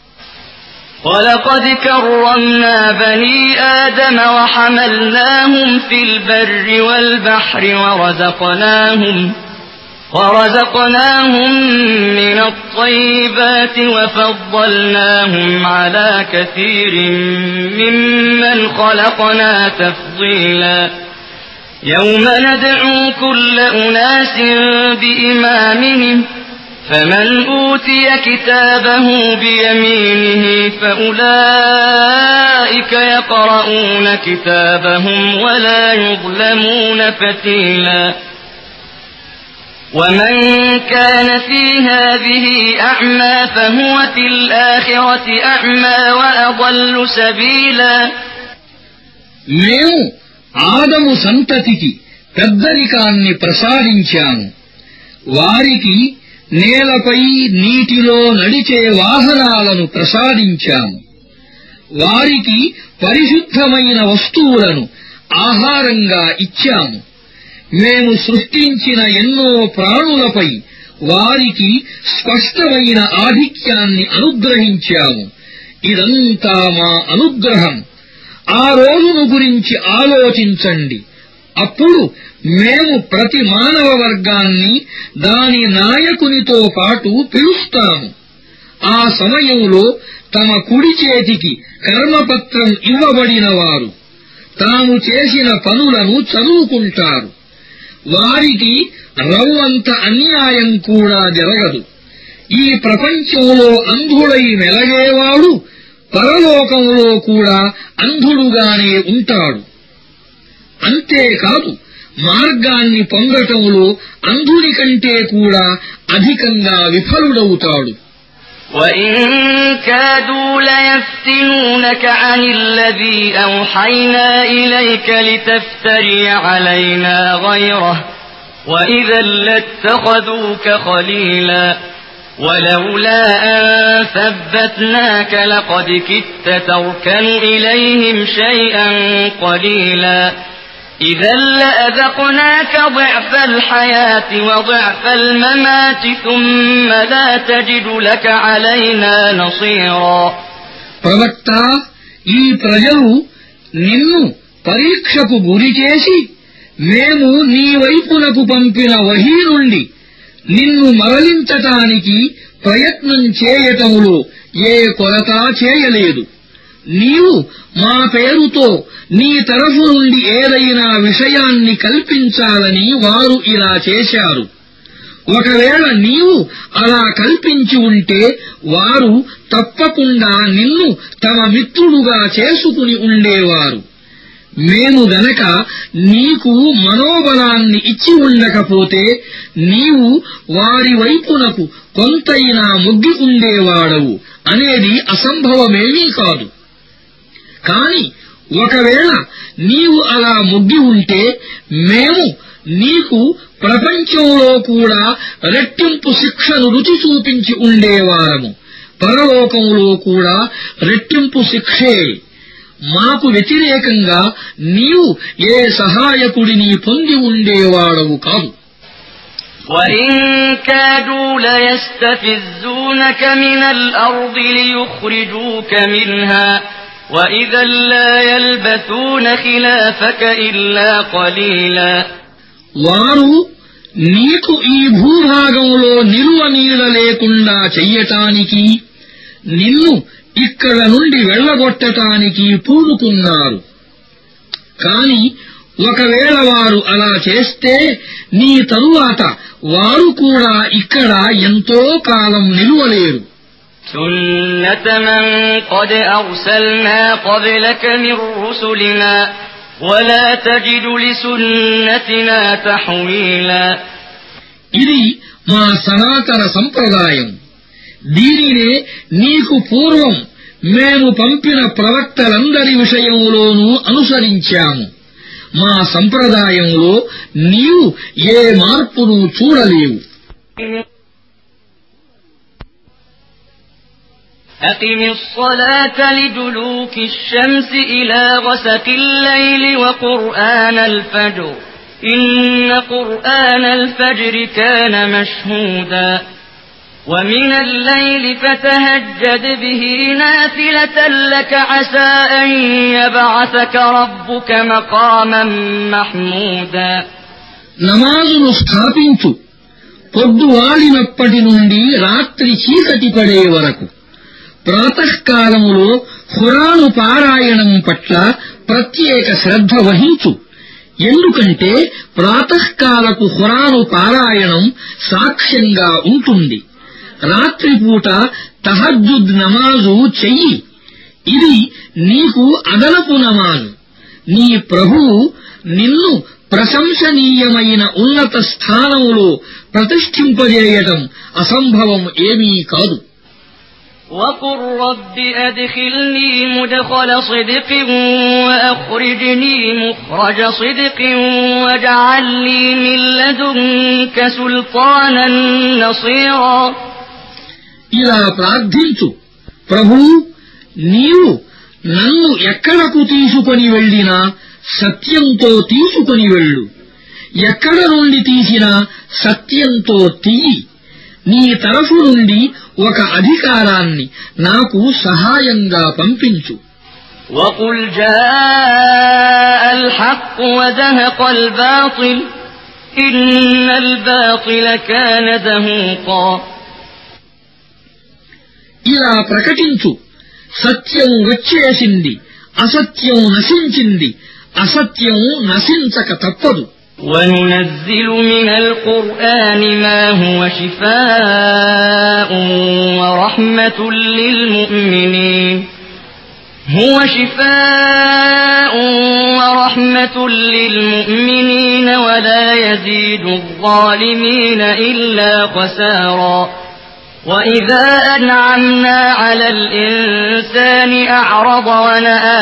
ولقد كرمنا بني آدم وحملناهم في البر والبحر ورزقناهم ورزقناهم من الطيبات وفضلناهم على كثير ممن خلقنا تفضيلا يوم ندعو كل أناس بإمامهم فمن أوتي كتابه بيمينه فأولئك يقرؤون كتابهم ولا يظلمون فتيلا ومن كان في هذه أعمى فهو في الآخرة أعمى وأضل سبيلا మేము ఆదము సంతతికి పెద్దరికాన్ని ప్రసాదించాము వారికి నేలపై నీటిలో నడిచే వాహనాలను ప్రసాదించాము వారికి పరిశుద్ధమైన వస్తువులను ఆహారంగా ఇచ్చాము మేము సృష్టించిన ఎన్నో ప్రాణులపై వారికి స్పష్టమైన ఆధిక్యాన్ని అనుగ్రహించాము ఇదంతా మా అనుగ్రహం ఆ రోజును గురించి ఆలోచించండి అప్పుడు మేము ప్రతి మానవ వర్గాన్ని దాని నాయకునితో పాటు పిలుస్తాము ఆ సమయంలో తమ కుడి చేతికి కర్మపత్రం ఇవ్వబడిన వారు తాము చేసిన పనులను చదువుకుంటారు వారికి రవ్వంత అన్యాయం కూడా జరగదు ఈ ప్రపంచంలో అంధుడై మెలగేవాడు పరలోకంలో కూడా అంధుడుగానే ఉంటాడు అంతేకాదు మార్గాన్ని పొందటంలో అంధుని కంటే కూడా అధికంగా విఫలుడవుతాడు وَإِن كَادُوا لَيَفْتِنُونَكَ عَنِ الَّذِي أَوْحَيْنَا إِلَيْكَ لِتَفْتَرِيَ عَلَيْنَا غَيْرَهُ وَإِذًا لَّاتَّخَذُوكَ خَلِيلًا ولولا أن ثبتناك لقد كدت تركن إليهم شيئا قليلا إذا لأذقناك ضعف الحياة وضعف الممات ثم لا تجد لك علينا نصيرا. ప్రవక్త, ఈ ప్రజలు నిన్ను పరీక్షకు గురిచేసి మేము నీ వైపునకు పంపిన వహీ నుండి నిన్ను మరలించటానికి ప్రయత్నం చేయటములో ఏ కొరత చేయలేదు. నీవు మా పేరుతో నీ తరఫు నుండి ఏదైనా విషయాన్ని కల్పించాలని వారు ఇలా చేశారు. ఒకవేళ నీవు అలా కల్పించి ఉంటే వారు తప్పకుండా నిన్ను తమ మిత్రుడుగా చేసుకుని ఉండేవారు. మేము గనక నీకు మనోబలాన్ని ఇచ్చి ఉండకపోతే నీవు వారి వైపునకు కొంతైనా మొగ్గి ఉండేవాడవు అనేది అసంభవమేమీ కాదు. కాని ఒకవేళ నీవు అలా మొగ్గి ఉంటే మేము నీకు ప్రపంచంలో కూడా రెట్టింపు శిక్షను రుచి చూపించి ఉండేవారము. పరలోకంలో కూడా రెట్టింపు శిక్షే. మాకు వ్యతిరేకంగా నీవు ఏ సహాయకుడిని పొంది ఉండేవాడవు కాదు. وَإِن كَادُوا لَيَسْتَفِزُّونَكَ مِنَ الْأَرْضِ لِيُخْرِجُوكَ مِنْهَا وَإِذًا لَّا يَلْبَثُونَ خِلَافَكَ إِلَّا قَلِيلًا. వారు నీకు ఈ భూభాగంలో నిలువ నీడ లేకుండా చెయ్యటానికి, నిన్ను ఇక్కడ నుండి వెళ్లగొట్టటానికి పూనుకున్నారు. కాని ఒకవేళ వారు అలా చేస్తే నీ తరువాత వారు కూడా ఇక్కడ ఎంతో కాలం నిలువలేరు. سُنَّةَ مَن قَدْ أَرْسَلْنَا قَبْلَكَ مِن رُّسُلِنَا وَلَا تَجِدُ لِسُنَّتِنَا تَحْوِيلًا. ఇది మా సనాతన సంప్రదాయం. దీనినే నీకు పూర్వం మేము పంపిన ప్రవక్తలందరి విషయంలోనూ అనుసరించాము. మా సంప్రదాయంలో నీవు ఏ మార్పును చూడలేవు. أقم الصلاة لدلوك الشمس إلى غسق الليل وقرآن الفجر إن قرآن الفجر كان مشهودا ومن الليل فتهجد به نافلة لك عسى أن يبعثك ربك مقاما محمودا. నమాజును స్థాపించు, పొద్దువాలినప్పటి నుండి రాత్రి చీకటి పడే వరకు. ప్రాతఃకాలములో ఖురాను పారాయణం పట్ల ప్రత్యేక శ్రద్ధ వహించు. ఎందుకంటే ప్రాతఃకాలపు ఖురాను పారాయణం సాక్ష్యంగా ఉంటుంది. రాత్రిపూట తహజ్జుద్ నమాజు చెయ్యి. ఇది నీకు అదనపు నమాజు. నీ ప్రభువు నిన్ను ప్రశంసనీయమైన ఉన్నత స్థానంలో ప్రతిష్ఠింపజేయడం అసంభవం ఏమీ కాదు. وَقُلْ رَبِّ أَدْخِلْنِي مُدْخَلَ صِدْقٍ وَأَخْرِجْنِي مُخْرَجَ صِدْقٍ وَاجْعَل لِّي مِن لَّدُنكَ سُلْطَانًا نَّصِيرًا. ఇలా ప్రార్థించు, ప్రభూ, నీవు నన్ను ఎక్కడకు తీసుకొని వెళ్ళినా సత్యంతో తీసుకొని వెళ్ళు. ఎక్కడ నుండి తీసినా సత్యంతో తీయి. నీ తరఫు నుండి ఒక అధికారాన్ని నాకు సహాయంగా పంపించు. وَقُلْ جَاءَ الْحَقُّ وَزَهَقَ الْبَاطِلُ إِنَّ الْبَاطِلَ كَانَ زَهُوقًا. ఇలా ప్రకటించు, సత్యం వచ్చేసింది, అసత్యం నశించింది, అసత్యం నశించక తప్పదు. وَنُنَزِّلُ مِنَ الْقُرْآنِ مَا هُوَ شِفَاءٌ وَرَحْمَةٌ لِّلْمُؤْمِنِينَ هُوَ شِفَاءٌ وَرَحْمَةٌ لِّلْمُؤْمِنِينَ وَلَا يَزِيدُ الظَّالِمِينَ إِلَّا خَسَارًا. وَإِذَا أَنْعَمْنَا عَلَى الْإِنسَانِ أَعْرَضَ وَنَأَىٰ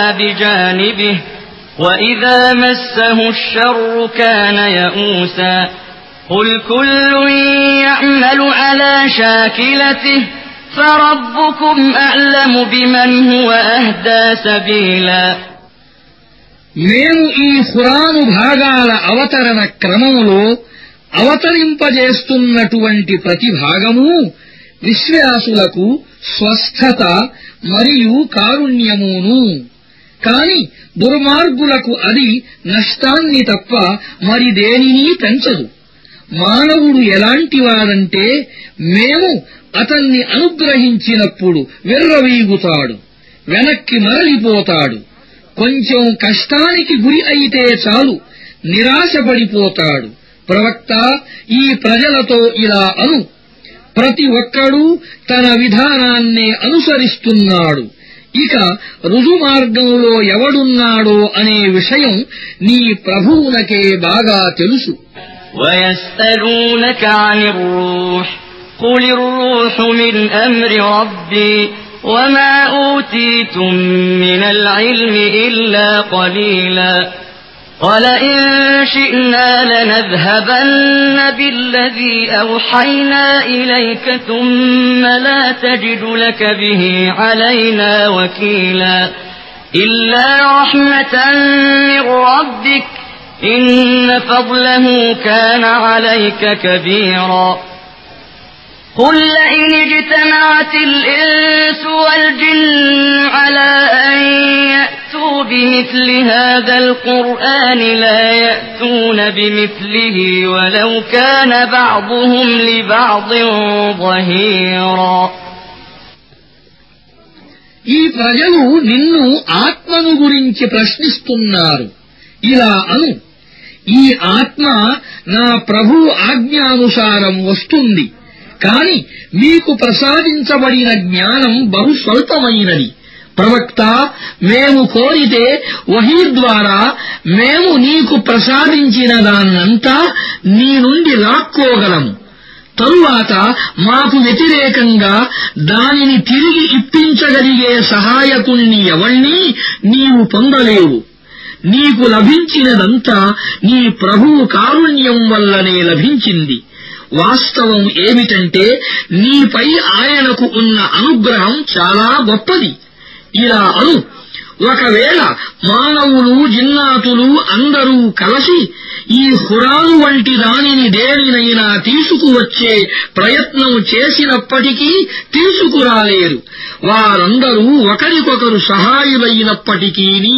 بِجَانِبِهِ وَإِذَا مَسَّهُ الشَّرُّ كَانَ يَئُوسًا. قل كل يعمل على شاكلته فربكم أعلم بمن هو أهدى سبيلا. మేము ఈ ఖురాను భాగాల అవతరణ క్రమములో అవతరింపజేస్తున్నటువంటి ప్రతి భాగము విశ్వాసులకు స్వస్థత మరియు కారుణ్యమును, కాని దుర్మార్గులకు అది నష్టాన్ని తప్ప మరి దేనినీ పెంచదు. మానవుడు ఎలాంటివాడంటే మేము అతన్ని అనుగ్రహించినప్పుడు విర్రవీగుతాడు, వెనక్కి మరలిపోతాడు. కొంచెం కష్టానికి గురి అయితే చాలు నిరాశపడిపోతాడు. ప్రవక్త, ఈ ప్రజలతో ఇలా అను, ప్రతి ఒక్కడూ తన విధానాన్నే అనుసరిస్తున్నాడు. ఇక రుజుమార్గంలో ఎవడున్నాడో అనే విషయం నీ ప్రభువునకే బాగా తెలుసు. وَيَسْأَلُونَكَ عَنِ الرُّوحِ قُلِ الرُّوحُ مِنْ أَمْرِ رَبِّي وَمَا أُوتِيتُم مِّنَ الْعِلْمِ إِلَّا قَلِيلًا وَلَئِن شِئْنَا لَنَذْهَبَنَّ بِالَّذِي أَوْحَيْنَا إِلَيْكَ ثُمَّ لَا تَجِدُ لَكَ بِهِ عَلَيْنَا وَكِيلًا إِلَّا رَحْمَةً مِّن رَّبِّكَ إِنَّ فَضْلَهُ كَانَ عَلَيْكَ كَبِيرًا. قُل لَّئِنِ اجْتَمَعَتِ الْإِنسُ وَالْجِنُّ عَلَىٰ أَن يَأْتُوا بِمِثْلِ هَٰذَا الْقُرْآنِ لَا يَأْتُونَ بِمِثْلِهِ وَلَوْ كَانَ بَعْضُهُمْ لِبَعْضٍ ظَهِيرًا. ఈ ప్రజలు నిన్ను ఆత్మను గురించి ప్రశ్నిస్తున్నారు. ఇలా అను, ఈ ఆత్మ నా ప్రభు ఆజ్ఞానుసారం వస్తుంది, కాని మీకు ప్రసాదించబడిన జ్ఞానం బహు స్వల్పమైనది. ప్రవక్త, మేము కోరితే వహీ ద్వారా మేము నీకు ప్రసాదించిన దాన్నంతా నీ నుండి లాక్కోగలము. తరువాత మాకు వ్యతిరేకంగా దానిని తిరిగి ఇప్పించగలిగే సహాయకుణ్ణి ఎవణ్ణీ నీవు పొందలేవు. నీకు లభించినదంతా నీ ప్రభువు కారుణ్యం వల్లనే లభించింది. వాస్తవం ఏమిటంటే నీపై ఆయనకు ఉన్న అనుగ్రహం చాలా గొప్పది. ఇలా అను, ఒకవేళ మానవులు జిన్నాతులు అందరూ కలిసి ఈ ఖురాను వంటి దానిని దేనినైనా తీసుకువచ్చే ప్రయత్నం చేసినప్పటికీ తీసుకురాలేరు. వారందరూ ఒకరికొకరు సహాయులైనప్పటికీనీ.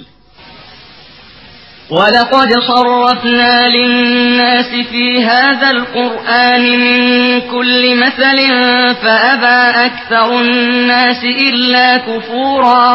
وَلَقَدْ صَرَّفْنَا لِلنَّاسِ فِي هَذَا الْقُرْآنِ مِنْ كُلِّ مَثَلٍ فَأَبَى أَكْثَرُ النَّاسِ إِلَّا كُفُورًا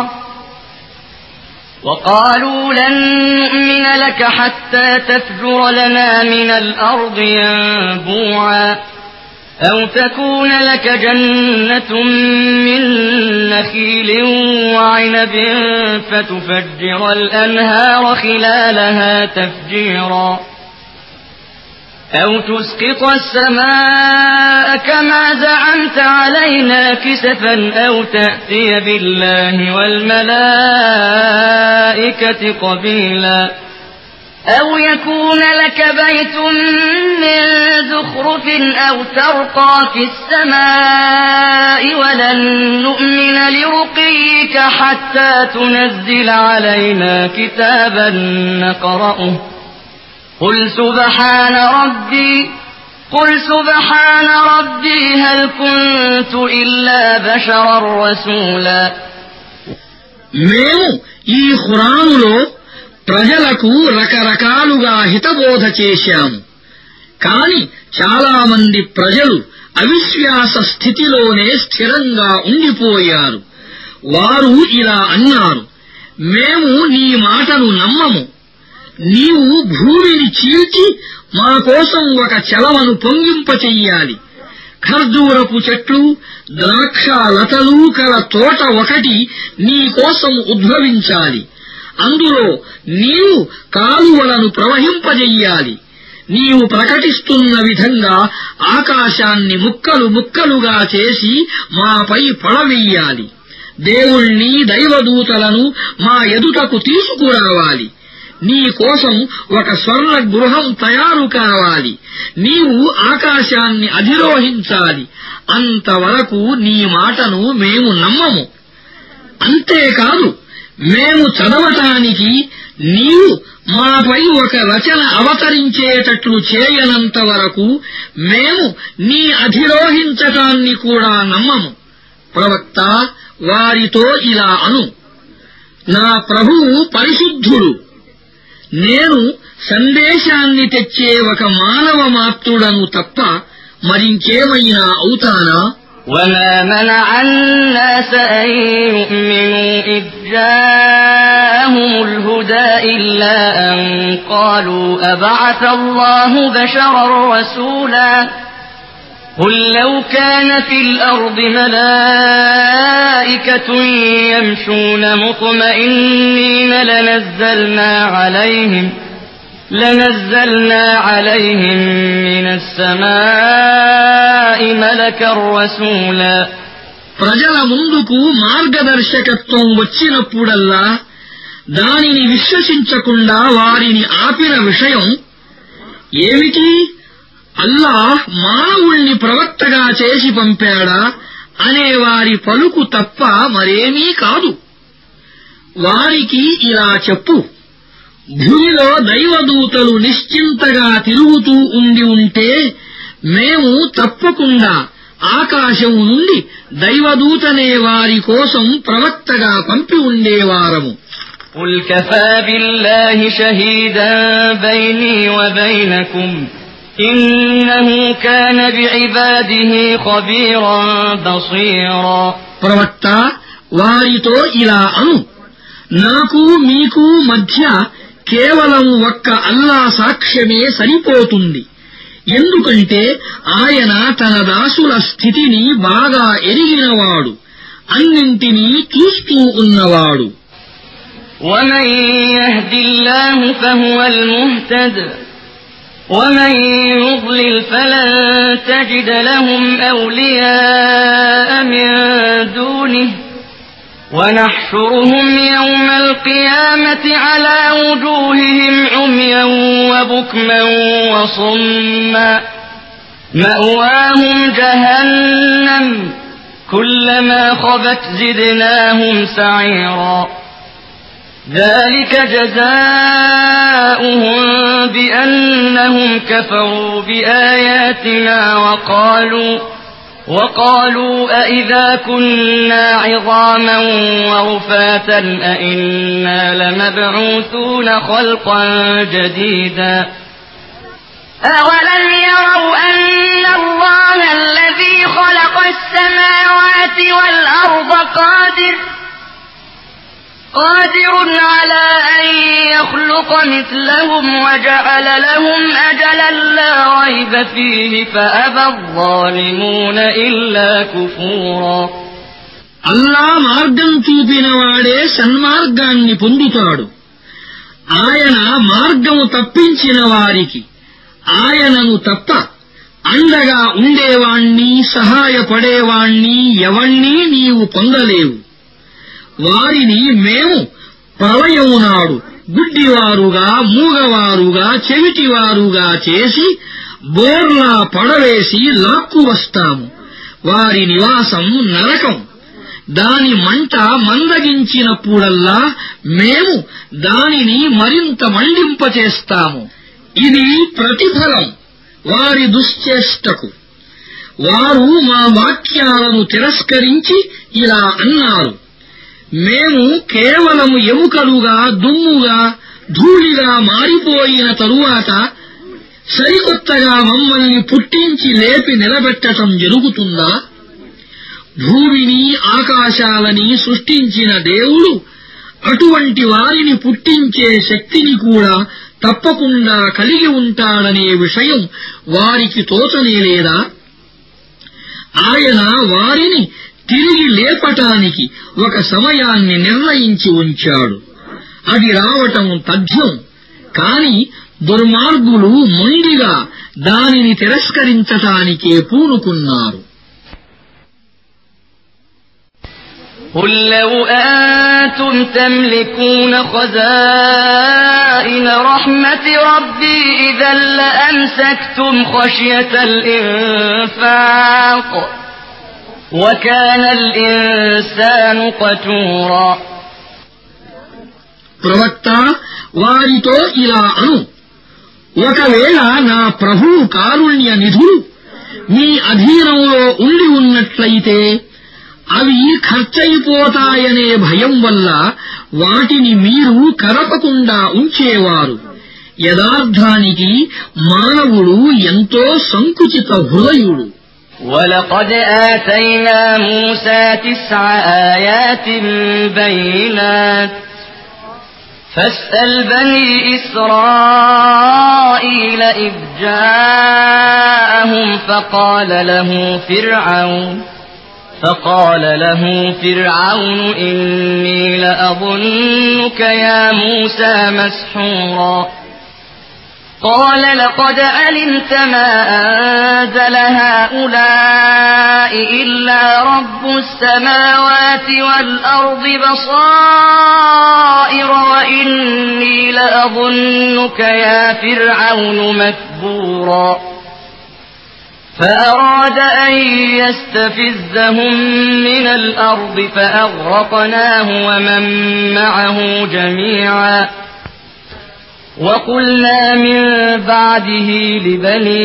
وَقَالُوا لَن نُّؤْمِنَ لَكَ حَتَّى تَفْجُرَ لَنَا مِنَ الْأَرْضِ يَنبُوعًا أَوْ تَكُونَ لَكَ جَنَّةٌ مِّن نَّخِيلٍ وَعِنَبٍ فَتُفَجِّرَ الْأَنْهَارَ خِلَالَهَا تَفْجِيرًا أَوْ تُسْقِطَ السَّمَاءَ كَمَا زَعَمْتَ عَلَيْنَا كِسَفًا أَوْ تَأْتِيَ بِاللَّهِ وَالْمَلَائِكَةِ قَبِيلًا أَوْ يَكُونَ لَكَ بَيْتٌ مِّن زُخْرُفٍ أَوْ تَرْقَىٰ فِي السَّمَاءِ وَلَن نُّؤْمِنَ لِرُقِيِّكَ حَتَّىٰ تُنَزِّلَ عَلَيْنَا كِتَابًا نَّقْرَؤُهُ قُلْ سُبْحَانَ رَبِّي قُلْ سُبْحَانَ رَبِّي هَلْ كُنتُ إِلَّا بَشَرًا رَّسُولًا. మేము ఈ ఖురానులో ప్రజలకు రకరకాలుగా హితబోధ చేశాము, కాని చాలామంది ప్రజలు అవిశ్వాస స్థితిలోనే స్థిరంగా ఉండిపోయారు. వారు ఇలా అన్నారు, మేము నీ మాటను నమ్మము. నీవు భూమిని చీల్చి మా కోసం ఒక చెలవను పొంగింపచెయ్యాలి. ఖర్జూరపు చెట్లు, ద్రాక్ష లతలు కల తోట ఒకటి నీ కోసం ఉద్భవించాలి. అందులో నీవు కాలువలను ప్రవహింపజెయ్యాలి. నీవు ప్రకటిస్తున్న విధంగా ఆకాశాన్ని ముక్కలు ముక్కలుగా చేసి మాపై పడవెయ్యాలి. దేవుణ్ణి, దైవదూతలను మా ఎదుటకు తీసుకురావాలి. నీ కోసం ఒక స్వర్ణ గృహం తయారు కావాలి, నీవు ఆకాశాన్ని అధిరోహించాలి, అంతవరకు నీ మాటను మేము నమ్మము. అంతేకాదు మేము చదవటానికి నీవు మాపై ఒక రచన అవతరించేటట్లు చేయనంత వరకు మేము నీ అధిరోహించటాన్ని కూడా నమ్మము. ప్రవక్త, వారితో ఇలా అను, నా ప్రభువు పరిశుద్ధుడు, నేను సందేశాన్ని తెచ్చే ఒక మానవ మాత్రుడను తప్ప మరింకేమైనా అవుతానా? وما منع الناس أن يؤمنوا إذ جاءهم الهدى إلا أن قالوا أبعث الله بشرا رسولا قل لو كان في الأرض ملائكة يمشون مطمئنين لنزلنا عليهم لنزلنا عليهم من السماء ملكا رسولا. ప్రజల ముందుకు మార్గదర్శకత్వం వచ్చినప్పుడల్లా దానిని విశ్వసించకుండా వారిని ఆపిన విషయం ఏమిటి? అల్లాహ్ మానవుణ్ణి ప్రవక్తగా చేసి పంపాడా అనే వారి పలుకు తప్ప మరేమీ కాదు. వారికి ఇలా చెప్పు, భూమిలో దైవదూతలు నిశ్చింతగా తిరుగుతూ ఉండి ఉంటే మేము తప్పకుండా ఆకాశం నుండి దైవదూతనే వారి కోసం ప్రవక్తగా పంపి ఉండేవారము. قل كفى بالله شهيدا بيني وبينكم إنه كان بعباده خبيرا بصيرا. ప్రవక్త, వారితో ఇలా అను, నాకు మీకు మధ్య కేవలం ఒక్క అల్లా సాక్ష్యమే సరిపోతుంది. ఎందుకంటే ఆయన తన దాసుల స్థితిని బాగా ఎరిగినవాడు, అన్నింటినీ చూస్తూ ఉన్నవాడు. ومن يهد الله فهو المهتد ومن يضلل فلن تجد لهم أولياء من دونه ونحشرهم يوم القيامة على وجوههم عميا وبكما وصما مأواهم جهنم كلما خبت زدناهم سعيرا. ذلك جزاؤهم بأنهم كفروا بآياتنا وقالوا وقالوا أئذا كنا عظاما ورفاتا أئنا لمبعوثون خلقا جديدا. أولم يروا أن الله الذي خلق السماوات والأرض قادر قادر على أن يخلق مثلهم وجعل لهم أجلا لا ريب فيه فأبى الظالمون إلا كفورا. అల్లా మార్గం చూపినవాడే సన్మార్గాన్ని పొందుతాడు. ఆయన మార్గము తప్పించిన వారికి ఆయనను తప్ప అండగా ఉండేవాణ్ణి, సహాయపడేవాణ్ణి ఎవణ్ణీ నీవు పొందలేవు. వారిని మేము ప్రళయము నాడు గుడ్డివారుగా, మూగవారుగా, చెవిటివారుగా చేసి బోర్లా పడవేసి లాక్కువస్తాము. వారి నివాసం నరకం. దాని మంట మందగించినప్పుడల్లా మేము దానిని మరింత మండింపచేస్తాము. ఇది ప్రతిఫలం వారి దుశ్చేష్టకు. వారు మా వాక్యాలను తిరస్కరించి ఇలా అన్నారు, మేము కేవలము ఎముకలుగా, దుమ్ముగా, ధూళిగా మారిపోయిన తరువాత సరికొత్తగా మమ్మల్ని పుట్టించి లేపి నిలబెట్టటం జరుగుతుందా? భూమిని, ఆకాశాలని సృష్టించిన దేవుడు అటువంటి వారిని పుట్టించే శక్తిని కూడా తప్పకుండా కలిగి ఉంటాడనే విషయం వారికి తోచనేలేదా? ఆయన వారిని తిరిగి లేపటానికి ఒక సమయాన్ని నిర్ణయించి ఉంచాడు. అది రావటం తథ్యం. కాని దుర్మార్గులు మొండిగా దానిని తిరస్కరించటానికే పూనుకున్నారు. قل لو أنتم تملكون خزائن رحمة ربي إذا لأمسكتم خشية الإنفاق وكان الإنسان قتورا. ప్రవక్త వారితో ఇలా అను, ఒకవేళ నా ప్రభువు కారుణ్య నిధులు మీ అధీనంలో ఉండి ఉన్నట్లయితే అవి ఖర్చయిపోతాయనే భయం వల్ల వాటిని మీరు కదపకుండా ఉంచేవారు. యథార్థానికి మానవుడు ఎంతో సంకుచిత హృదయుడు. ولقد آتينا موسى تسع آيات بينات فاسأل بني إسرائيل إذ جاءهم فقال له فرعون فقال له فرعون إني لأظنك يا موسى مسحورا. قال لقد علمت ما أنزل هؤلاء إلا رب السماوات والأرض بصائر وإني لأظنك يا فرعون مكبورا. فأراد أن يستفزهم من الأرض فأغرقناه ومن معه جميعا. وقلنا من بعده لبني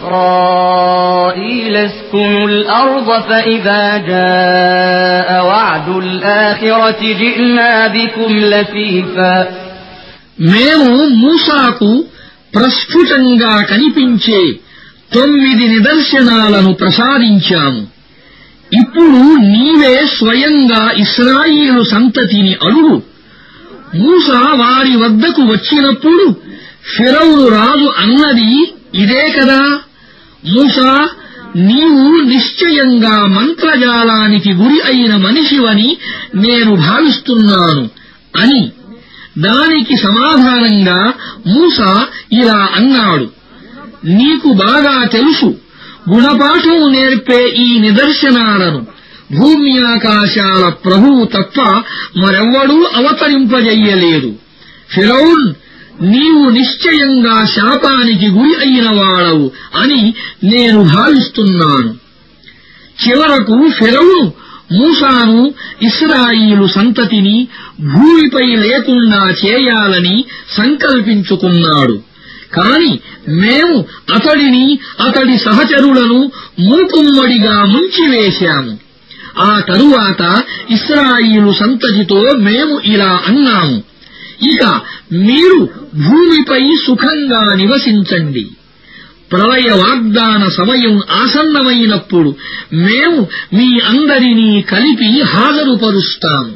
إسرائيل اسكنوا الأرض فإذا جاء وعد الآخرة جئنا بكم لفيفا. మేము మూసాకు ప్రస్ఫుటంగా కనిపించే తొమ్మిది నిదర్శనాలను ప్రసాదించాము. ఇప్పుడు నీవే స్వయంగా ఇశ్రాయేలు సంతతిని అడుగు. మూసా వారి వద్దకు వచ్చినప్పుడు ఫిరౌను రాజు అన్నది ఇదే కదా, మూసా నీవు నిశ్చయంగా మంత్రజాలానికి గురి అయిన మనిషివని నేను భావిస్తున్నాను అని. దానికి సమాధానంగా మూసా ఇలా అన్నాడు, నీకు బాగా తెలుసు, గుణపాఠం నేర్పే ఈ నిదర్శనాలను భూమి ఆకాశాల ప్రభువు తప్ప మరెవ్వడూ అవతరింపజెయ్యలేదు. ఫిరౌన్, నీవు నిశ్చయంగా శాపానికి గురి అయిన వాడవు అని నేను భావిస్తున్నాను. చివరకు ఫిరౌను మూసాను ఇశ్రాయేలు సంతతిని భూమిపై లేకుండా చేయాలని సంకల్పించుకున్నాడు. కాని మేము అతడిని అతడి సహచరులను మూకుమ్మడిగా ముంచివేశాము. ఆ తరువాత ఇశ్రాయేలు సంతతితో మేము ఇలా అన్నాము, ఇక మీరు భూమిపై సుఖంగా నివసించండి. ప్రళయ వాగ్దాన సమయం ఆసన్నమైనప్పుడు మేము మీ అందరినీ కలిపి హాజరుపరుస్తాము.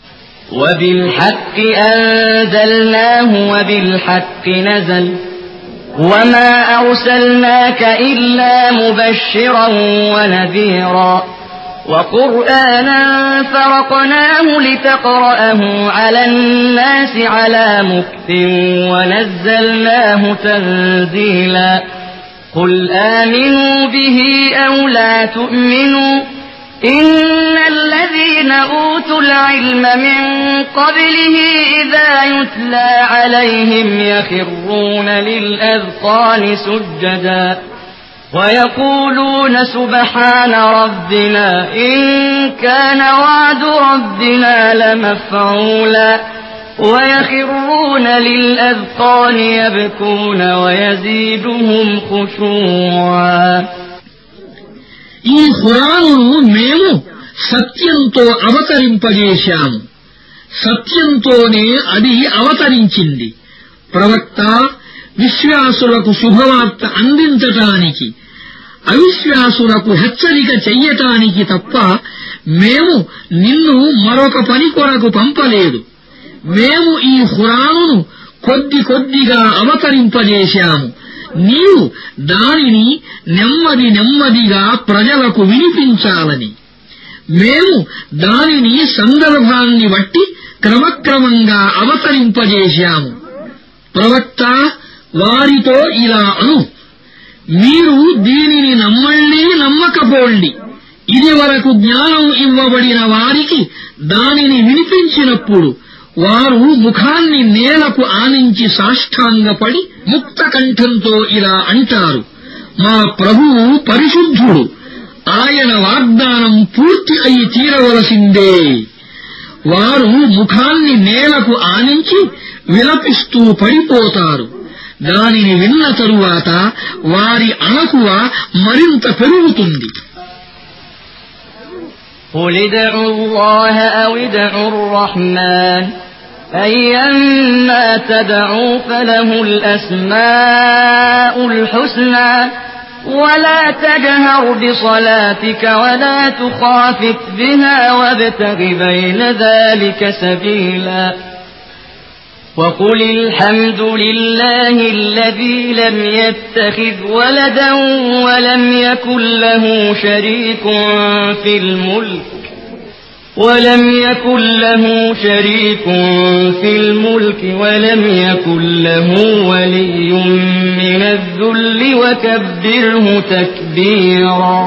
وبالحق أنزلناه وبالحق نزل وما أرسلناك إلا مبشرا ونذيرا وقرآنا فرقناه لتقرأه على الناس على مكث ونزلناه تنزيلا. قل آمنوا به أو لا تؤمنوا إن الذين أوتوا العلم من قبله إذا يتلى عليهم يخرون للأذقان سجدا ويقولون سبحان ربنا إن كان وعد ربنا لمفعولا ويخرون للأذقان يبكون ويزيدهم خشوعا. ఈ ఖురానును మేము సత్యంతో అవతరింపజేశాము. సత్యంతోనే అది అవతరించింది. ప్రవక్త, విశ్వాసులకు శుభవార్త అందించటానికి, అవిశ్వాసులకు హెచ్చరిక చెయ్యటానికి తప్ప మేము నిన్ను మరొక పని కొరకు పంపలేదు. మేము ఈ ఖురానును కొద్ది కొద్దిగా అవతరింపజేశాము. నీవు దానిని నెమ్మది నెమ్మదిగా ప్రజలకు వినిపించాలని. మేము దానిని సందర్భాన్ని బట్టి క్రమక్రమంగా అవతరింపజేశాము. ప్రవక్త, వారితో ఇలా అను, మీరు దీనిని నమ్మండి నమ్మకపోండి, ఇది వరకు జ్ఞానం ఇవ్వబడిన వారికి దానిని వినిపించినప్పుడు వారు ముఖాన్ని నేలకు ఆనించి సాష్టాంగపడి ముక్త కంఠంతో ఇలా అంటారు, మా ప్రభువు పరిశుద్ధుడు, ఆయన వాగ్దానం పూర్తి అయి తీరవలసిందే. వారు ముఖాన్ని నేలకు ఆనించి విలపిస్తూ పడిపోతారు. దానిని విన్న తరువాత వారి అణకువ మరింత పెరుగుతుంది. قل ادعوا الله أو ادعوا الرحمن أيما تدعوا فله الأسماء الحسنى ولا تجهر بصلاتك ولا تخافت بها وابتغ بين ذلك سبيلا وقل الحمد لله الذي لم يتخذ ولدا ولم يكن له شريك في الملك ولم يكن له شريك في الملك ولم يكن له ولي من الذل وكبره تكبيرا.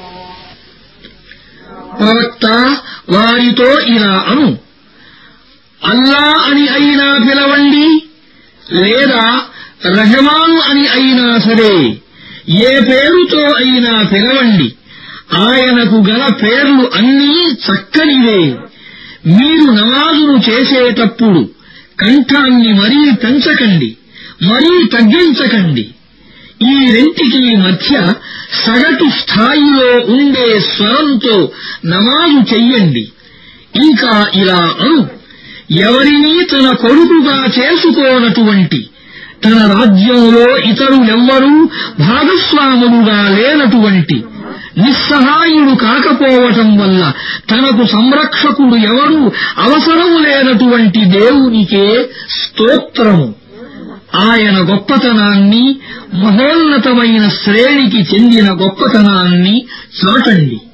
ప్రవక్త వారితో ఇలా అను, అల్లా అని అయినా పిలవండి, లేదా రహమాను అని అయినా సరే, ఏ పేరుతో అయినా పిలవండి, ఆయనకు గల పేర్లు అన్నీ చక్కనివే. మీరు నమాజును చేసేటప్పుడు కంఠాన్ని మరీ పెంచకండి, మరీ తగ్గించకండి. ఈ రెంటికి మధ్య సగటు స్థాయిలో ఉండే స్వరంతో నమాజు చెయ్యండి. ఇంకా ఇలా అను, ఎవరినీ తన కొడుకుగా చేసుకోనటువంటి, తన రాజ్యంలో ఇతరులెవ్వరూ భాగస్వాములుగా లేనటువంటి, నిస్సహాయుడు కాకపోవటం వల్ల తనకు సంరక్షకుడు ఎవరూ అవసరము లేనటువంటి దేవునికే స్తోత్రము. ఆయన గొప్పతనాన్ని, మహోన్నతమైన శ్రేణికి చెందిన గొప్పతనాన్ని చాటండి.